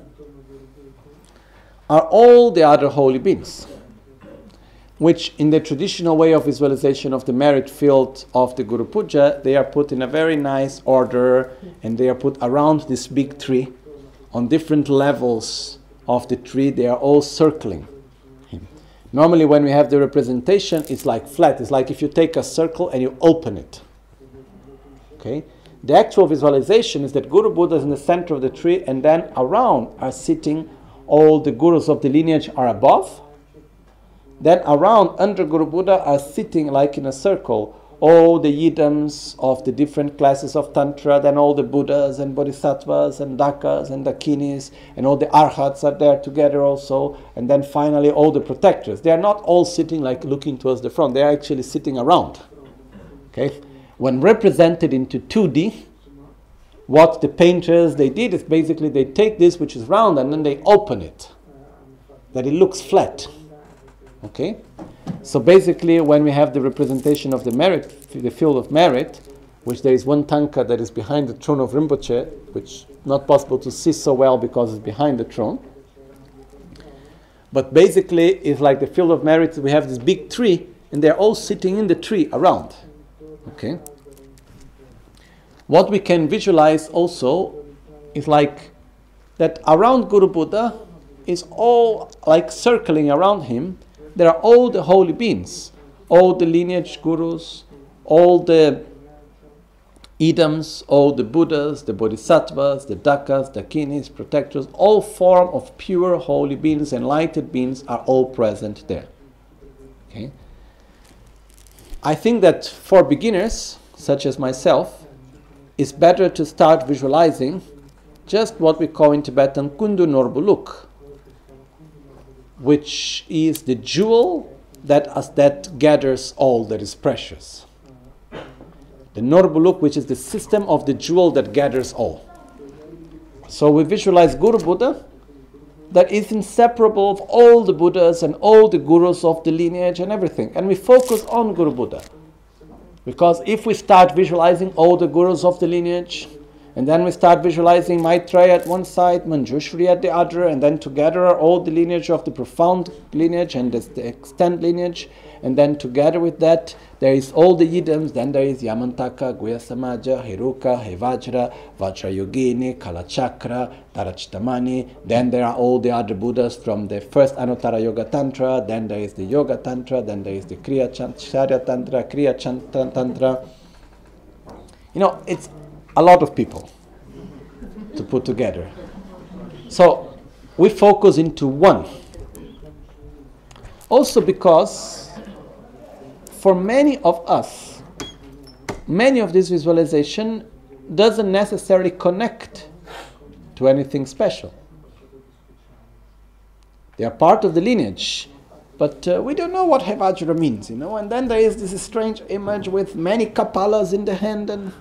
are all the other holy beings, which in the traditional way of visualization of the merit field of the Guru Puja, they are put in a very nice order and they are put around this big tree. On different levels of the tree, they are all circling him. Normally when we have the representation, it's like flat. It's like if you take a circle and you open it. Okay? The actual visualization is that Guru Buddha is in the center of the tree and then around are sitting all the gurus of the lineage are above. Then around, under Guru Buddha, are sitting like in a circle all the yidams of the different classes of Tantra, then all the Buddhas and Bodhisattvas and Dakas and Dakinis, and all the Arhats are there together also, and then finally all the protectors. They are not all sitting like looking towards the front, they are actually sitting around. Okay? When represented into two D, what the painters, they did is basically they take this which is round and then they open it, that it looks flat. Okay? So basically when we have the representation of the merit, the field of merit, which there is one tanka that is behind the throne of Rinpoche, which is not possible to see so well because it's behind the throne. But basically it's like the field of merit, we have this big tree and they're all sitting in the tree around. Okay? What we can visualize also is like that around Guru Buddha is all like circling around him. There are all the holy beings, all the lineage gurus, all the idams, all the Buddhas, the Bodhisattvas, the Dakas, Dakinis, protectors, all form of pure holy beings, enlightened beings are all present there. Okay? I think that for beginners, such as myself, it's better to start visualizing just what we call in Tibetan Kundu Norbuluk, which is the jewel that, as that gathers all that is precious. The Norbuluk, which is the system of the jewel that gathers all. So we visualize Guru Buddha that is inseparable of all the Buddhas and all the gurus of the lineage and everything. And we focus on Guru Buddha. Because if we start visualizing all the gurus of the lineage, and then we start visualizing Maitreya at one side, Manjushri at the other, and then together are all the lineage of the profound lineage and the extent lineage, and then together with that there is all the yidams, then there is Yamantaka, Guhya Samaja, Heruka, Hevajra, Vajrayogini, Kalachakra, Tarachitamani, then there are all the other Buddhas from the first Anuttara Yoga Tantra, then there is the Yoga Tantra, then there is the Kriya Charya Tantra, Kriya Tantra. You know, it's a lot of people to put together. So we focus into one. Also because for many of us, many of this visualization doesn't necessarily connect to anything special. They are part of the lineage, but uh, we don't know what Hevajra means, you know, and then there is this strange image with many kapalas in the hand and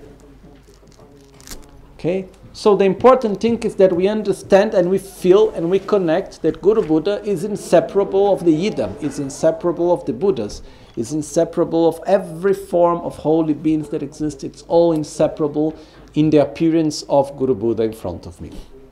okay, so the important thing is that we understand and we feel and we connect that Guru Buddha is inseparable of the Yidam, is inseparable of the Buddhas, is inseparable of every form of holy beings that exist. It's all inseparable in the appearance of Guru Buddha in front of me.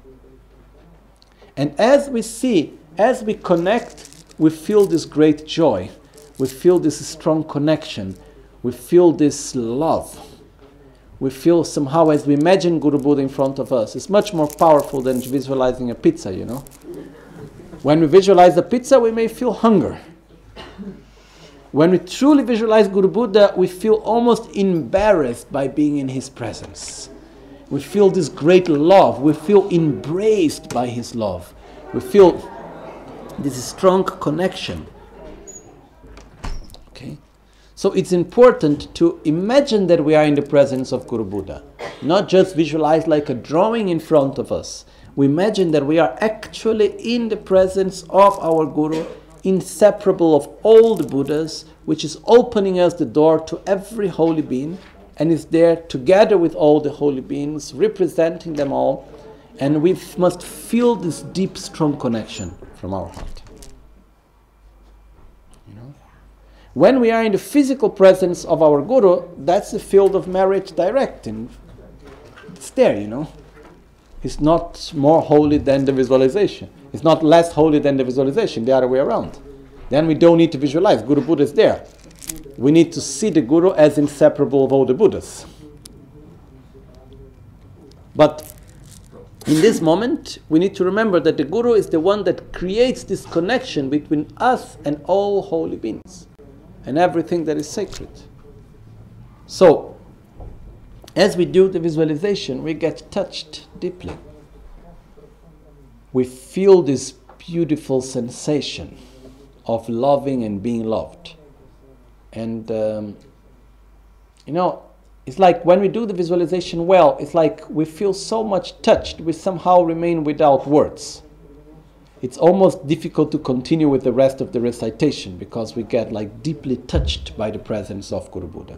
And as we see, as we connect, we feel this great joy, we feel this strong connection, we feel this love. We feel somehow, as we imagine Guru Buddha in front of us, it's much more powerful than visualizing a pizza, you know. When we visualize a pizza, we may feel hunger. when we truly visualize Guru Buddha, we feel almost embarrassed by being in his presence. We feel this great love. We feel embraced by his love. We feel this strong connection. Okay? So it's important to imagine that we are in the presence of Guru Buddha. Not just visualize like a drawing in front of us. We imagine that we are actually in the presence of our Guru, inseparable of all the Buddhas, which is opening us the door to every holy being, and is there together with all the holy beings, representing them all, and we f- must feel this deep, strong connection from our heart. You know? When we are in the physical presence of our Guru, that's the field of merit direct, and it's there, you know. It's not more holy than the visualization. It's not less holy than the visualization, the other way around. Then we don't need to visualize. Guru Buddha is there. We need to see the Guru as inseparable of all the Buddhas. But in this moment, we need to remember that the Guru is the one that creates this connection between us and all holy beings and everything that is sacred. So, as we do the visualization, we get touched deeply. We feel this beautiful sensation of loving and being loved. And, um, you know, it's like when we do the visualization well, it's like we feel so much touched, we somehow remain without words. It's almost difficult to continue with the rest of the recitation because we get like deeply touched by the presence of Guru Buddha.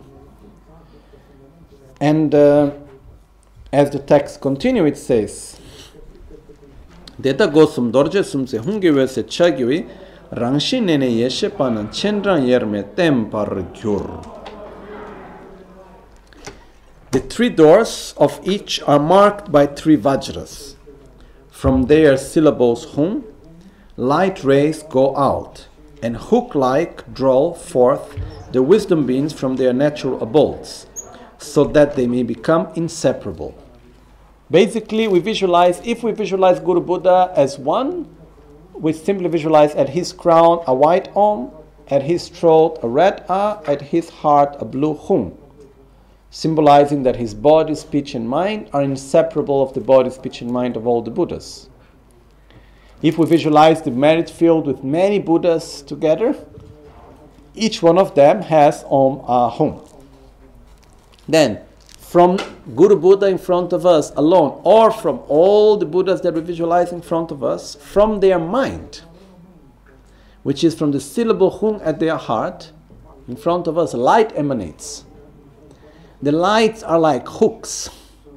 And uh, as the text continues, it says, Deta gosum dorje sumse hungiwe se chagiwi rangshi nene yeshe panan chendran yerme tempar gyur. The three doors of each are marked by three vajras. From their syllables hum, light rays go out, and hook-like draw forth the wisdom beings from their natural abodes, so that they may become inseparable. Basically, we visualize, if we visualize Guru Buddha as one, we simply visualize at his crown a white Om, at his throat a red A, at his heart a blue Hum, symbolizing that his body, speech and mind are inseparable of the body, speech and mind of all the Buddhas. If we visualize the merit field with many Buddhas together, each one of them has Om A Hum. Then, from Guru Buddha in front of us alone, or from all the Buddhas that we visualize in front of us, from their mind, which is from the syllable Hum at their heart, in front of us, light emanates. The lights are like hooks,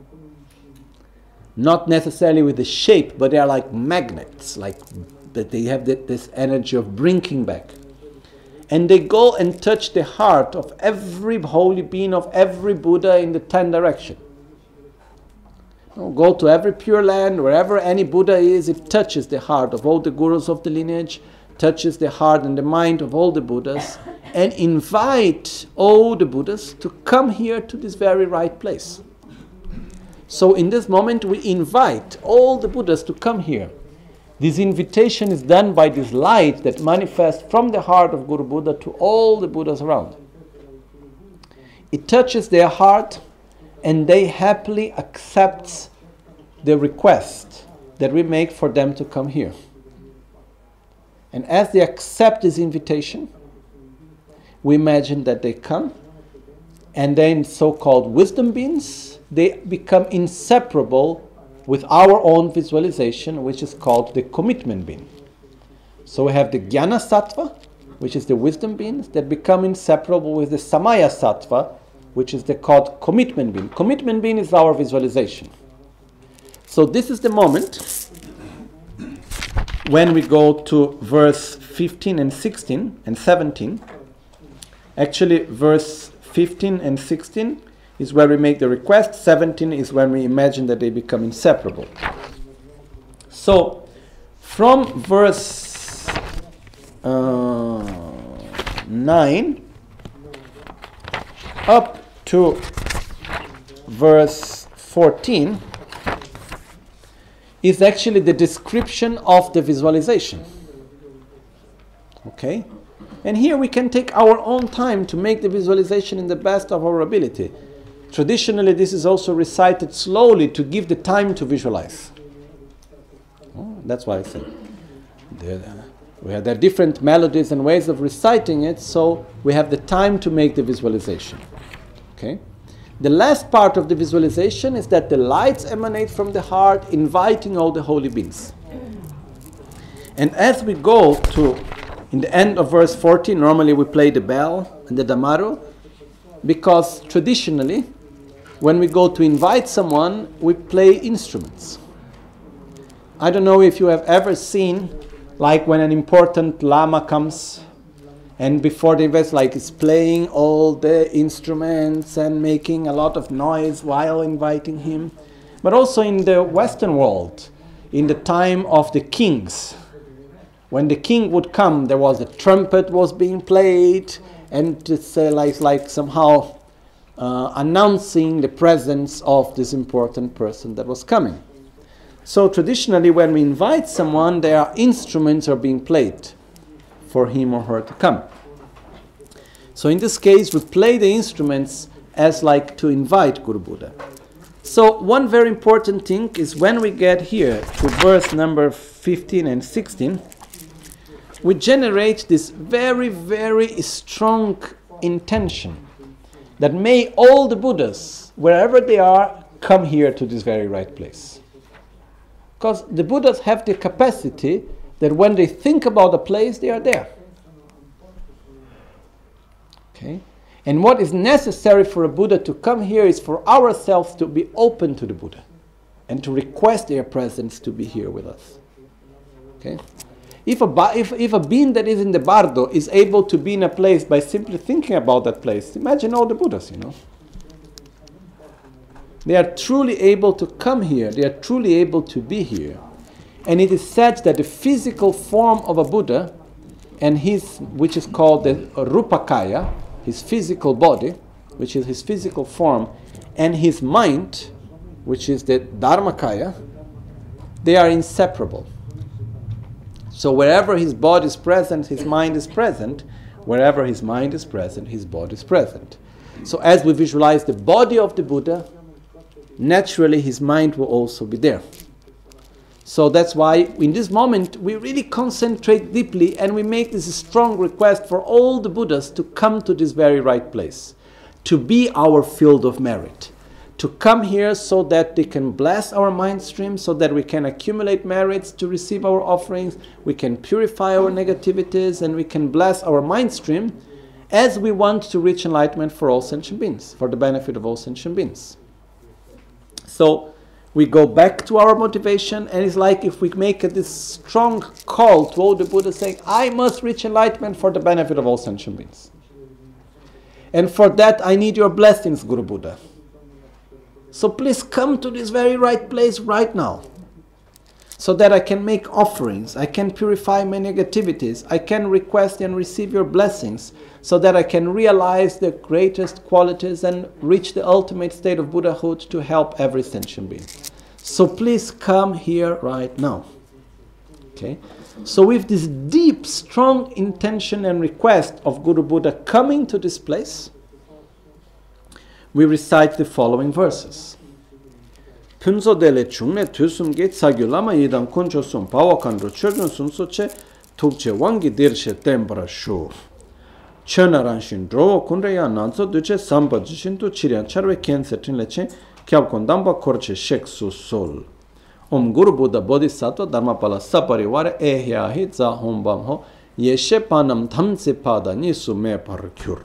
not necessarily with the shape, but they are like magnets, like that they have this energy of bringing back. And they go and touch the heart of every holy being, of every Buddha in the ten direction. Go to every pure land, wherever any Buddha is, it touches the heart of all the gurus of the lineage, touches the heart and the mind of all the Buddhas, and invite all the Buddhas to come here to this very right place. So in this moment we invite all the Buddhas to come here. This invitation is done by this light that manifests from the heart of Guru Buddha to all the Buddhas around. It touches their heart and they happily accept the request that we make for them to come here. And as they accept this invitation, we imagine that they come, and then so-called wisdom beings, they become inseparable with our own visualization, which is called the commitment being. So we have the Jnana Sattva, which is the wisdom beings, that become inseparable with the Samaya Sattva, which is the called commitment being. Commitment being is our visualization. So this is the moment when we go to verse fifteen and sixteen and seventeen. Actually, verse fifteen and sixteen is where we make the request. seventeen is when we imagine that they become inseparable. So, from verse uh, nine up to verse fourteen is actually the description of the visualization. Okay? And here we can take our own time to make the visualization in the best of our ability. Traditionally, this is also recited slowly to give the time to visualize. Oh, that's why I said there, we have there are different melodies and ways of reciting it, so we have the time to make the visualization. Okay. The last part of the visualization is that the lights emanate from the heart, inviting all the holy beings. And as we go to, in the end of verse fourteen, normally we play the bell and the damaru, because traditionally, when we go to invite someone, we play instruments. I don't know if you have ever seen, like when an important lama comes, and before the invite, like is playing all the instruments and making a lot of noise while inviting him. But also in the Western world, in the time of the kings, when the king would come, there was a trumpet was being played, and it's uh, like, like somehow uh, announcing the presence of this important person that was coming. So traditionally, when we invite someone, there are instruments are being played for him or her to come. So in this case, we play the instruments as like to invite Guru Buddha. So one very important thing is when we get here to verse number fifteen and sixteen, we generate this very, very strong intention that may all the Buddhas, wherever they are, come here to this very right place. Because the Buddhas have the capacity that when they think about a place, they are there. Okay? And what is necessary for a Buddha to come here is for ourselves to be open to the Buddha and to request their presence to be here with us. Okay? If a, ba- if, if a being that is in the bardo is able to be in a place by simply thinking about that place, imagine all the Buddhas, you know. They are truly able to come here. They are truly able to be here. And it is said that the physical form of a Buddha, and his, which is called the Rupakaya, his physical body, which is his physical form, and his mind, which is the Dharmakaya, they are inseparable. So wherever his body is present, his mind is present. Wherever his mind is present, his body is present. So as we visualize the body of the Buddha, naturally his mind will also be there. So that's why in this moment we really concentrate deeply and we make this strong request for all the Buddhas to come to this very right place, to be our field of merit, to come here so that they can bless our mind stream, so that we can accumulate merits to receive our offerings, we can purify our negativities, and we can bless our mind stream as we want to reach enlightenment for all sentient beings, for the benefit of all sentient beings. So we go back to our motivation, and it's like if we make a, this strong call to all the Buddhas saying, I must reach enlightenment for the benefit of all sentient beings. And for that I need your blessings, Guru Buddha. So please come to this very right place right now, so that I can make offerings, I can purify my negativities, I can request and receive your blessings, so that I can realize the greatest qualities and reach the ultimate state of Buddhahood to help every sentient being. So please come here right now. Okay? So with this deep, strong intention and request of Guru Buddha coming to this place, we recite the following verses. Punso dele chungne tusum ge tsagyulama yidam kunchosum pawakandro churgun sunsoche tukche wangi dirshe tembra shu. Chönaranshin drowo kunreya nanso duche samba jishintu chirian charwe kense tinleche kyab kondamba korche shek su sol. Om Guru Buddha Bodhisattva Dharmapala Sapariwara ehyahi za hombam ho yeshe panam thamse pada nisu me parkyur.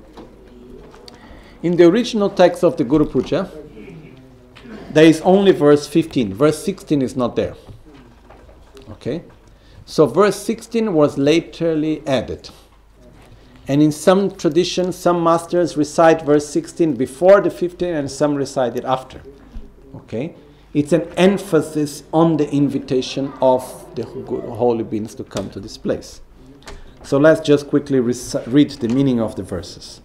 In the original text of the Guru Puja, there is only verse fifteen. Verse sixteen is not there. Okay? So verse sixteen was laterly added. And in some traditions, some masters recite verse sixteen before the fifteen and some recite it after. Okay? It's an emphasis on the invitation of the holy beings to come to this place. So let's just quickly rec- read the meaning of the verses.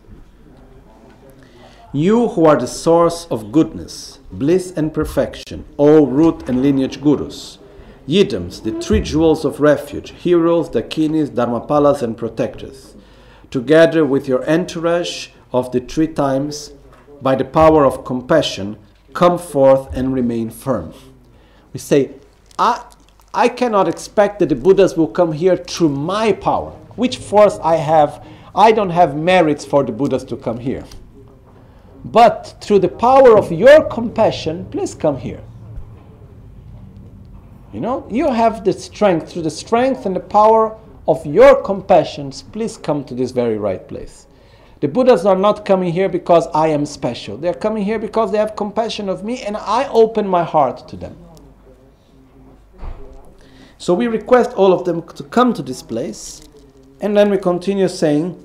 You who are the source of goodness, bliss and perfection, all root and lineage gurus, yidams, the three jewels of refuge, heroes, dakinis, dharmapalas and protectors, together with your entourage of the three times, by the power of compassion, come forth and remain firm. We say, I, I cannot expect that the Buddhas will come here through my power. Which force I have? I don't have merits for the Buddhas to come here. But through the power of your compassion, please come here. You know, you have the strength, through the strength and the power of your compassions, please come to this very right place. The Buddhas are not coming here because I am special. They are coming here because they have compassion of me and I open my heart to them. So we request all of them to come to this place, and then we continue saying,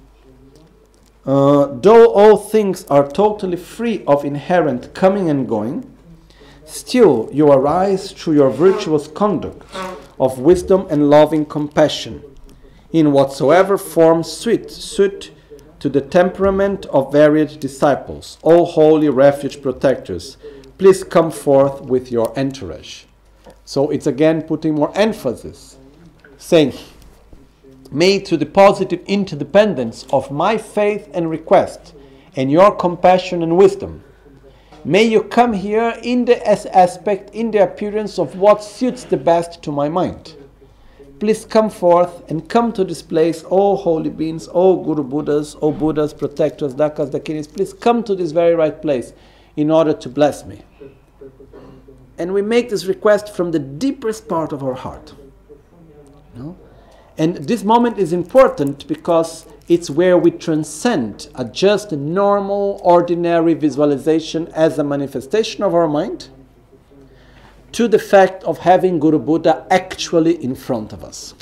uh, though all things are totally free of inherent coming and going, still you arise through your virtuous conduct of wisdom and loving compassion, in whatsoever form suit, suit to the temperament of varied disciples. O holy refuge protectors, please come forth with your entourage. So it's again putting more emphasis, saying, may to the positive interdependence of my faith and request, and your compassion and wisdom, may you come here in the aspect, in the appearance of what suits the best to my mind. Please come forth and come to this place, O holy beings, O Guru Buddhas, O Buddhas, protectors, Dakas, Dakinis, please come to this very right place in order to bless me. And we make this request from the deepest part of our heart. No? And this moment is important because it's where we transcend a just normal, ordinary visualization as a manifestation of our mind to the fact of having Guru Buddha actually in front of us.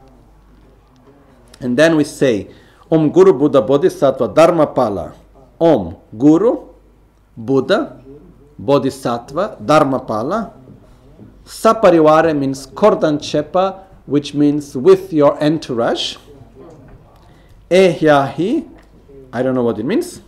And then we say, Om Guru Buddha Bodhisattva Dharmapala, Om Guru Buddha Bodhisattva Dharmapala. Saparivare means Kordanchepa, which means with your entourage. Ehyahi, I don't know what it means.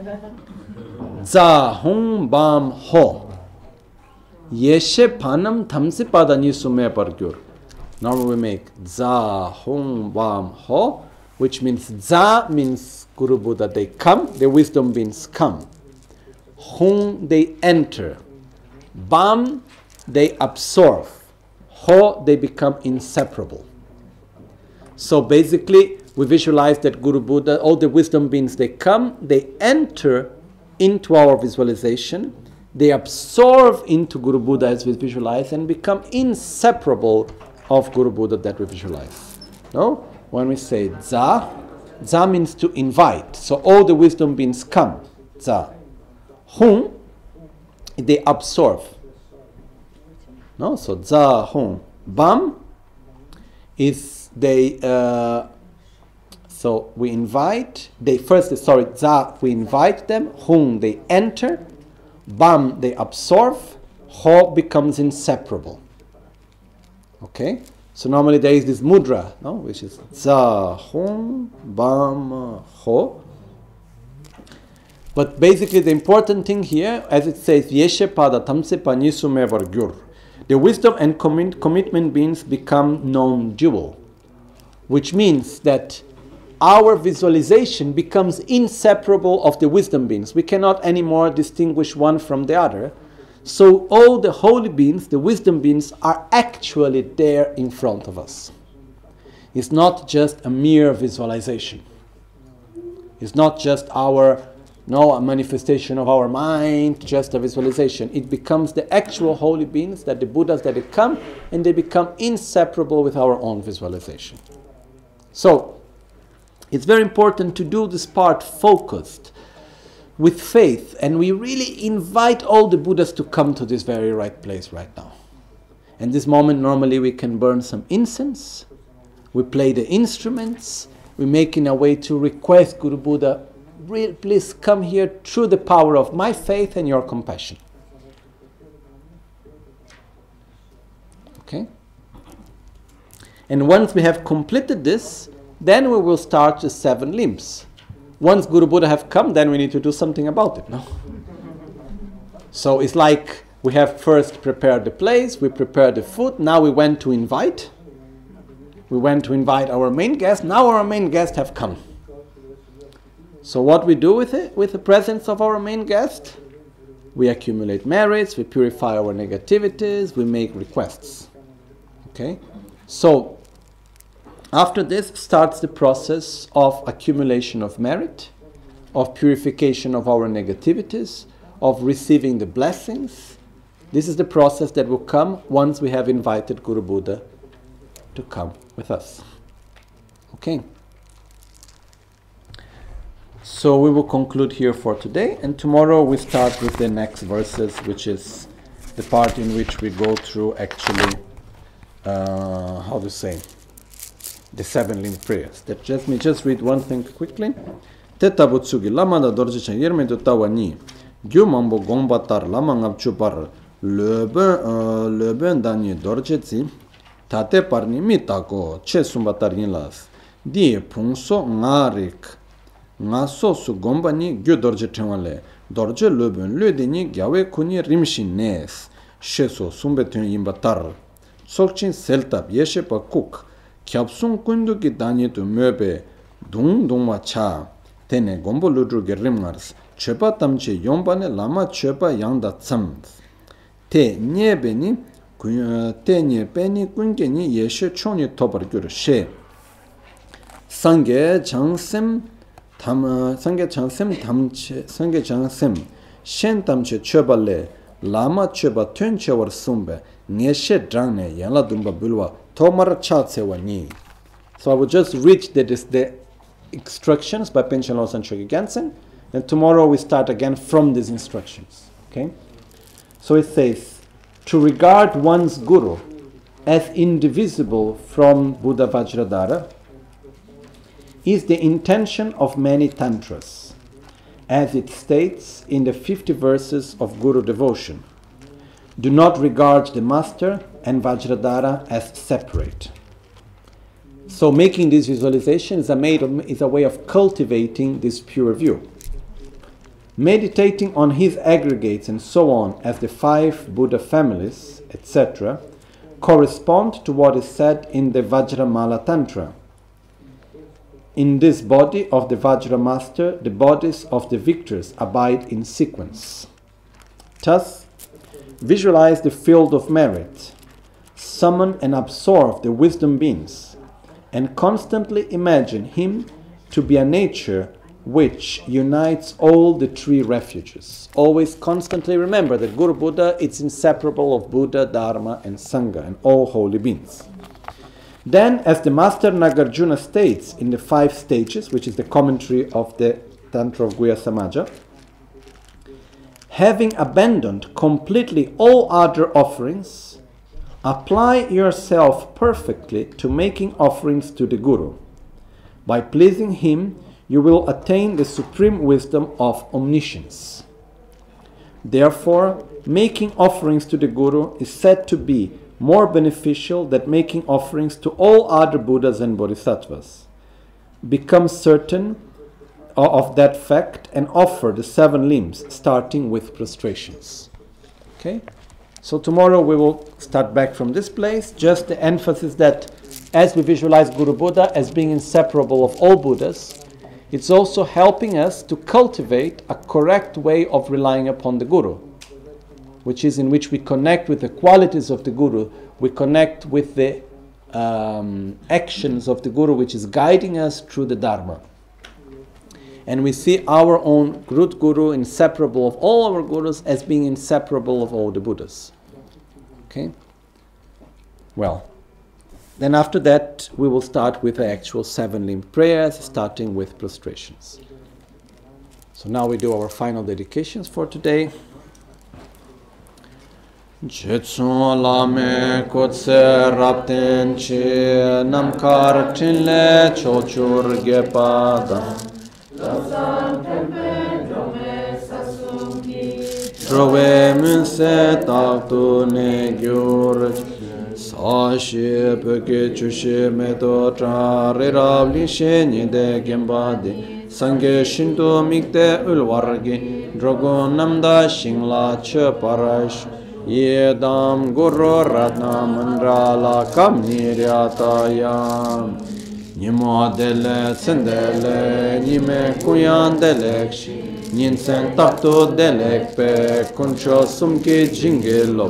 Zahung Bam Ho. Yeshe Panam Tamsi Padani Sume Pargyur. Normally we make Zahung Bam Ho, which means Za means Guru Buddha, they come, the wisdom beings come. Hung, they enter. Bam, they absorb. Ho, they become inseparable. So basically, we visualize that Guru Buddha, all the wisdom beings, they come, they enter into our visualization, they absorb into Guru Buddha as we visualize and become inseparable of Guru Buddha that we visualize. No? When we say Za, Za means to invite. So all the wisdom beings come. Za. Hung, they absorb. No? So Za, Hung. Bam is they, uh, so we invite, they first, sorry, Za, we invite them. Hung, they enter. Bam, they absorb. Ho becomes inseparable. Okay? So normally there is this mudra, no? Which is Za, Hung, Bam, Ho. But basically the important thing here, as it says, Yeshe Pada Tamse Panisume Vargyur. The wisdom and commi- commitment beings become non-dual, which means that our visualization becomes inseparable of the wisdom beings. We cannot anymore distinguish one from the other. So all the holy beings, the wisdom beings, are actually there in front of us. It's not just a mere visualization. It's not just our, no, a manifestation of our mind, just a visualization. It becomes the actual holy beings, that the Buddhas that they come, and they become inseparable with our own visualization. So, it's very important to do this part focused, with faith, and we really invite all the Buddhas to come to this very right place right now. And this moment, normally we can burn some incense, we play the instruments, we make in a way to request Guru Buddha, please come here through the power of my faith and your compassion. Okay? And once we have completed this, then we will start the seven limbs. Once Guru Buddha have come, then we need to do something about it, no? So it's like we have first prepared the place, we prepared the food, now we went to invite. We went to invite our main guest, now our main guests have come. So what we do with it, with the presence of our main guest? We accumulate merits, we purify our negativities, we make requests. Okay? So, after this starts the process of accumulation of merit, of purification of our negativities, of receiving the blessings. This is the process that will come once we have invited Guru Buddha to come with us. Okay? So we will conclude here for today, and tomorrow we start with the next verses, which is the part in which we go through actually, uh, how to say, the seven limb prayers. That just me just read one thing quickly. Teta butsugi lama da dorje chen yerme do tawani gyu mambo gombatar lama ngap chupar lebe lebe dani dorje zi tate parni mitako che sumbatar yinlas di pungso ngarik nga so su gombani gyu dorje tenwale dorje leben lődeni gyawe kuni rimshin nes sheso sumbetun yimbatar solchin seltab yeshe pa kuk kyapsung kundu ki dani tu möbe dung dungma cha tene gombo ludru gerimars chepa tamche yombane lama chepa yangda tsam te nyebeni te nyebeni kungeni yeshe choni tobar gyur she sange changsem tam sange changsem tamche sange changsem shen tamche chebale lama cheba tönche war sumbe ngeshe drangne yala dumba bulwa tomar chatse wani. So I will just read the the instructions by Panchen Losang Chogi Gyaltsen, and tomorrow we start again from these instructions. Okay? So it says, to regard one's Guru as indivisible from Buddha Vajradhara is the intention of many tantras, as it states in the fifty verses of Guru devotion. Do not regard the master and Vajradhara as separate. So making this visualization is a, made of, is a way of cultivating this pure view. Meditating on his aggregates and so on as the five Buddha families, et cetera, correspond to what is said in the Vajramala Tantra. In this body of the Vajra Master, the bodies of the victors abide in sequence. Thus, visualize the field of merit, summon and absorb the wisdom beings, and constantly imagine him to be a nature which unites all the three refuges. Always constantly remember that Guru Buddha is inseparable of Buddha, Dharma, and Sangha, and all holy beings. Then, as the Master Nagarjuna states in the five stages, which is the commentary of the Tantra of Guhya Samaja, having abandoned completely all other offerings, apply yourself perfectly to making offerings to the Guru. By pleasing him, you will attain the supreme wisdom of omniscience. Therefore, making offerings to the Guru is said to be more beneficial than making offerings to all other Buddhas and Bodhisattvas. Become certain of that fact and offer the seven limbs, starting with prostrations. Okay? So tomorrow we will start back from this place. Just the emphasis that as we visualize Guru Buddha as being inseparable of all Buddhas, it's also helping us to cultivate a correct way of relying upon the Guru, which is in which we connect with the qualities of the Guru, we connect with the um, actions of the Guru, which is guiding us through the Dharma. And we see our own root Guru, inseparable of all our Gurus, as being inseparable of all the Buddhas. Okay? Well, then after that, we will start with the actual seven-limb prayers, starting with prostrations. So now we do our final dedications for today. Jetsun lame kotse rapten chi namkar tinle chochur gepada Trove munse taktu ne gyur Sashi peke chushe meto tra rirabli shenye de gembadi Sange shinto mikte ulwargi Drogo namda shingla che parash Yedam guru ratna mandrala kam niryatayam
Nimo dele sendele, nime kuyan delek, ninsen takto delek pe, kuncho sumki jingelo.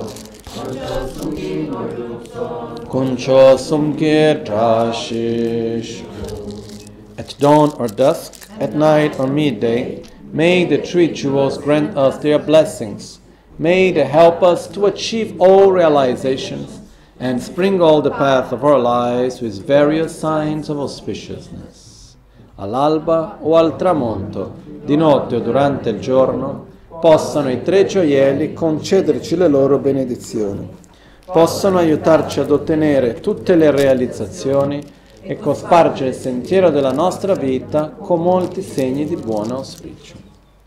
Kuncho sumki trashish. At dawn or dusk, at night or midday, may the three jewels grant us their blessings. May they help us to achieve all realizations and sprinkle the path of our lives with various signs of auspiciousness. All'alba o al tramonto, di notte o durante il giorno, possano i tre gioielli concederci le loro benedizioni, possano aiutarci ad ottenere tutte le realizzazioni e cospargere il sentiero della nostra vita con molti segni di buon auspicio.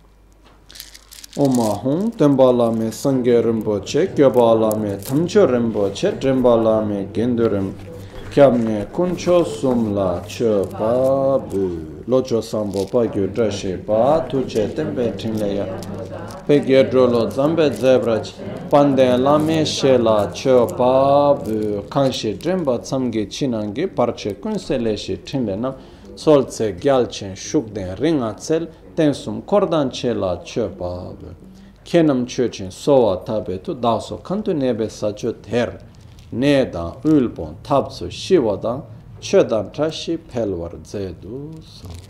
Omahum, Tembalame, Sangye Rinpoche, Gyobalame, Tamcho Rinpoche, Drimbalame, Gendurim, Kyamne, Kuncho Sumla, Che Pa Bu, Locho Sambo Pa Gyu Drashe Pa, Tuche Tempe Trinleya, Pegye Drolo Zambe Zebrach, Pande Lame Shela, Che Pa Bu, Kanshi Drimba Tsamge Chinange, Parche Kunseleshi Trinlenam, Soltse Gyalchen Shukden Ringatsel, Tensum Kordanche La Chöpab, Kenam Chöchin Soa Tabetu, Daso Kantu Nebe Sacho Ter, Neda Ulbon Tabsu Shivada, Chödan Trashi Pelwar Zedu.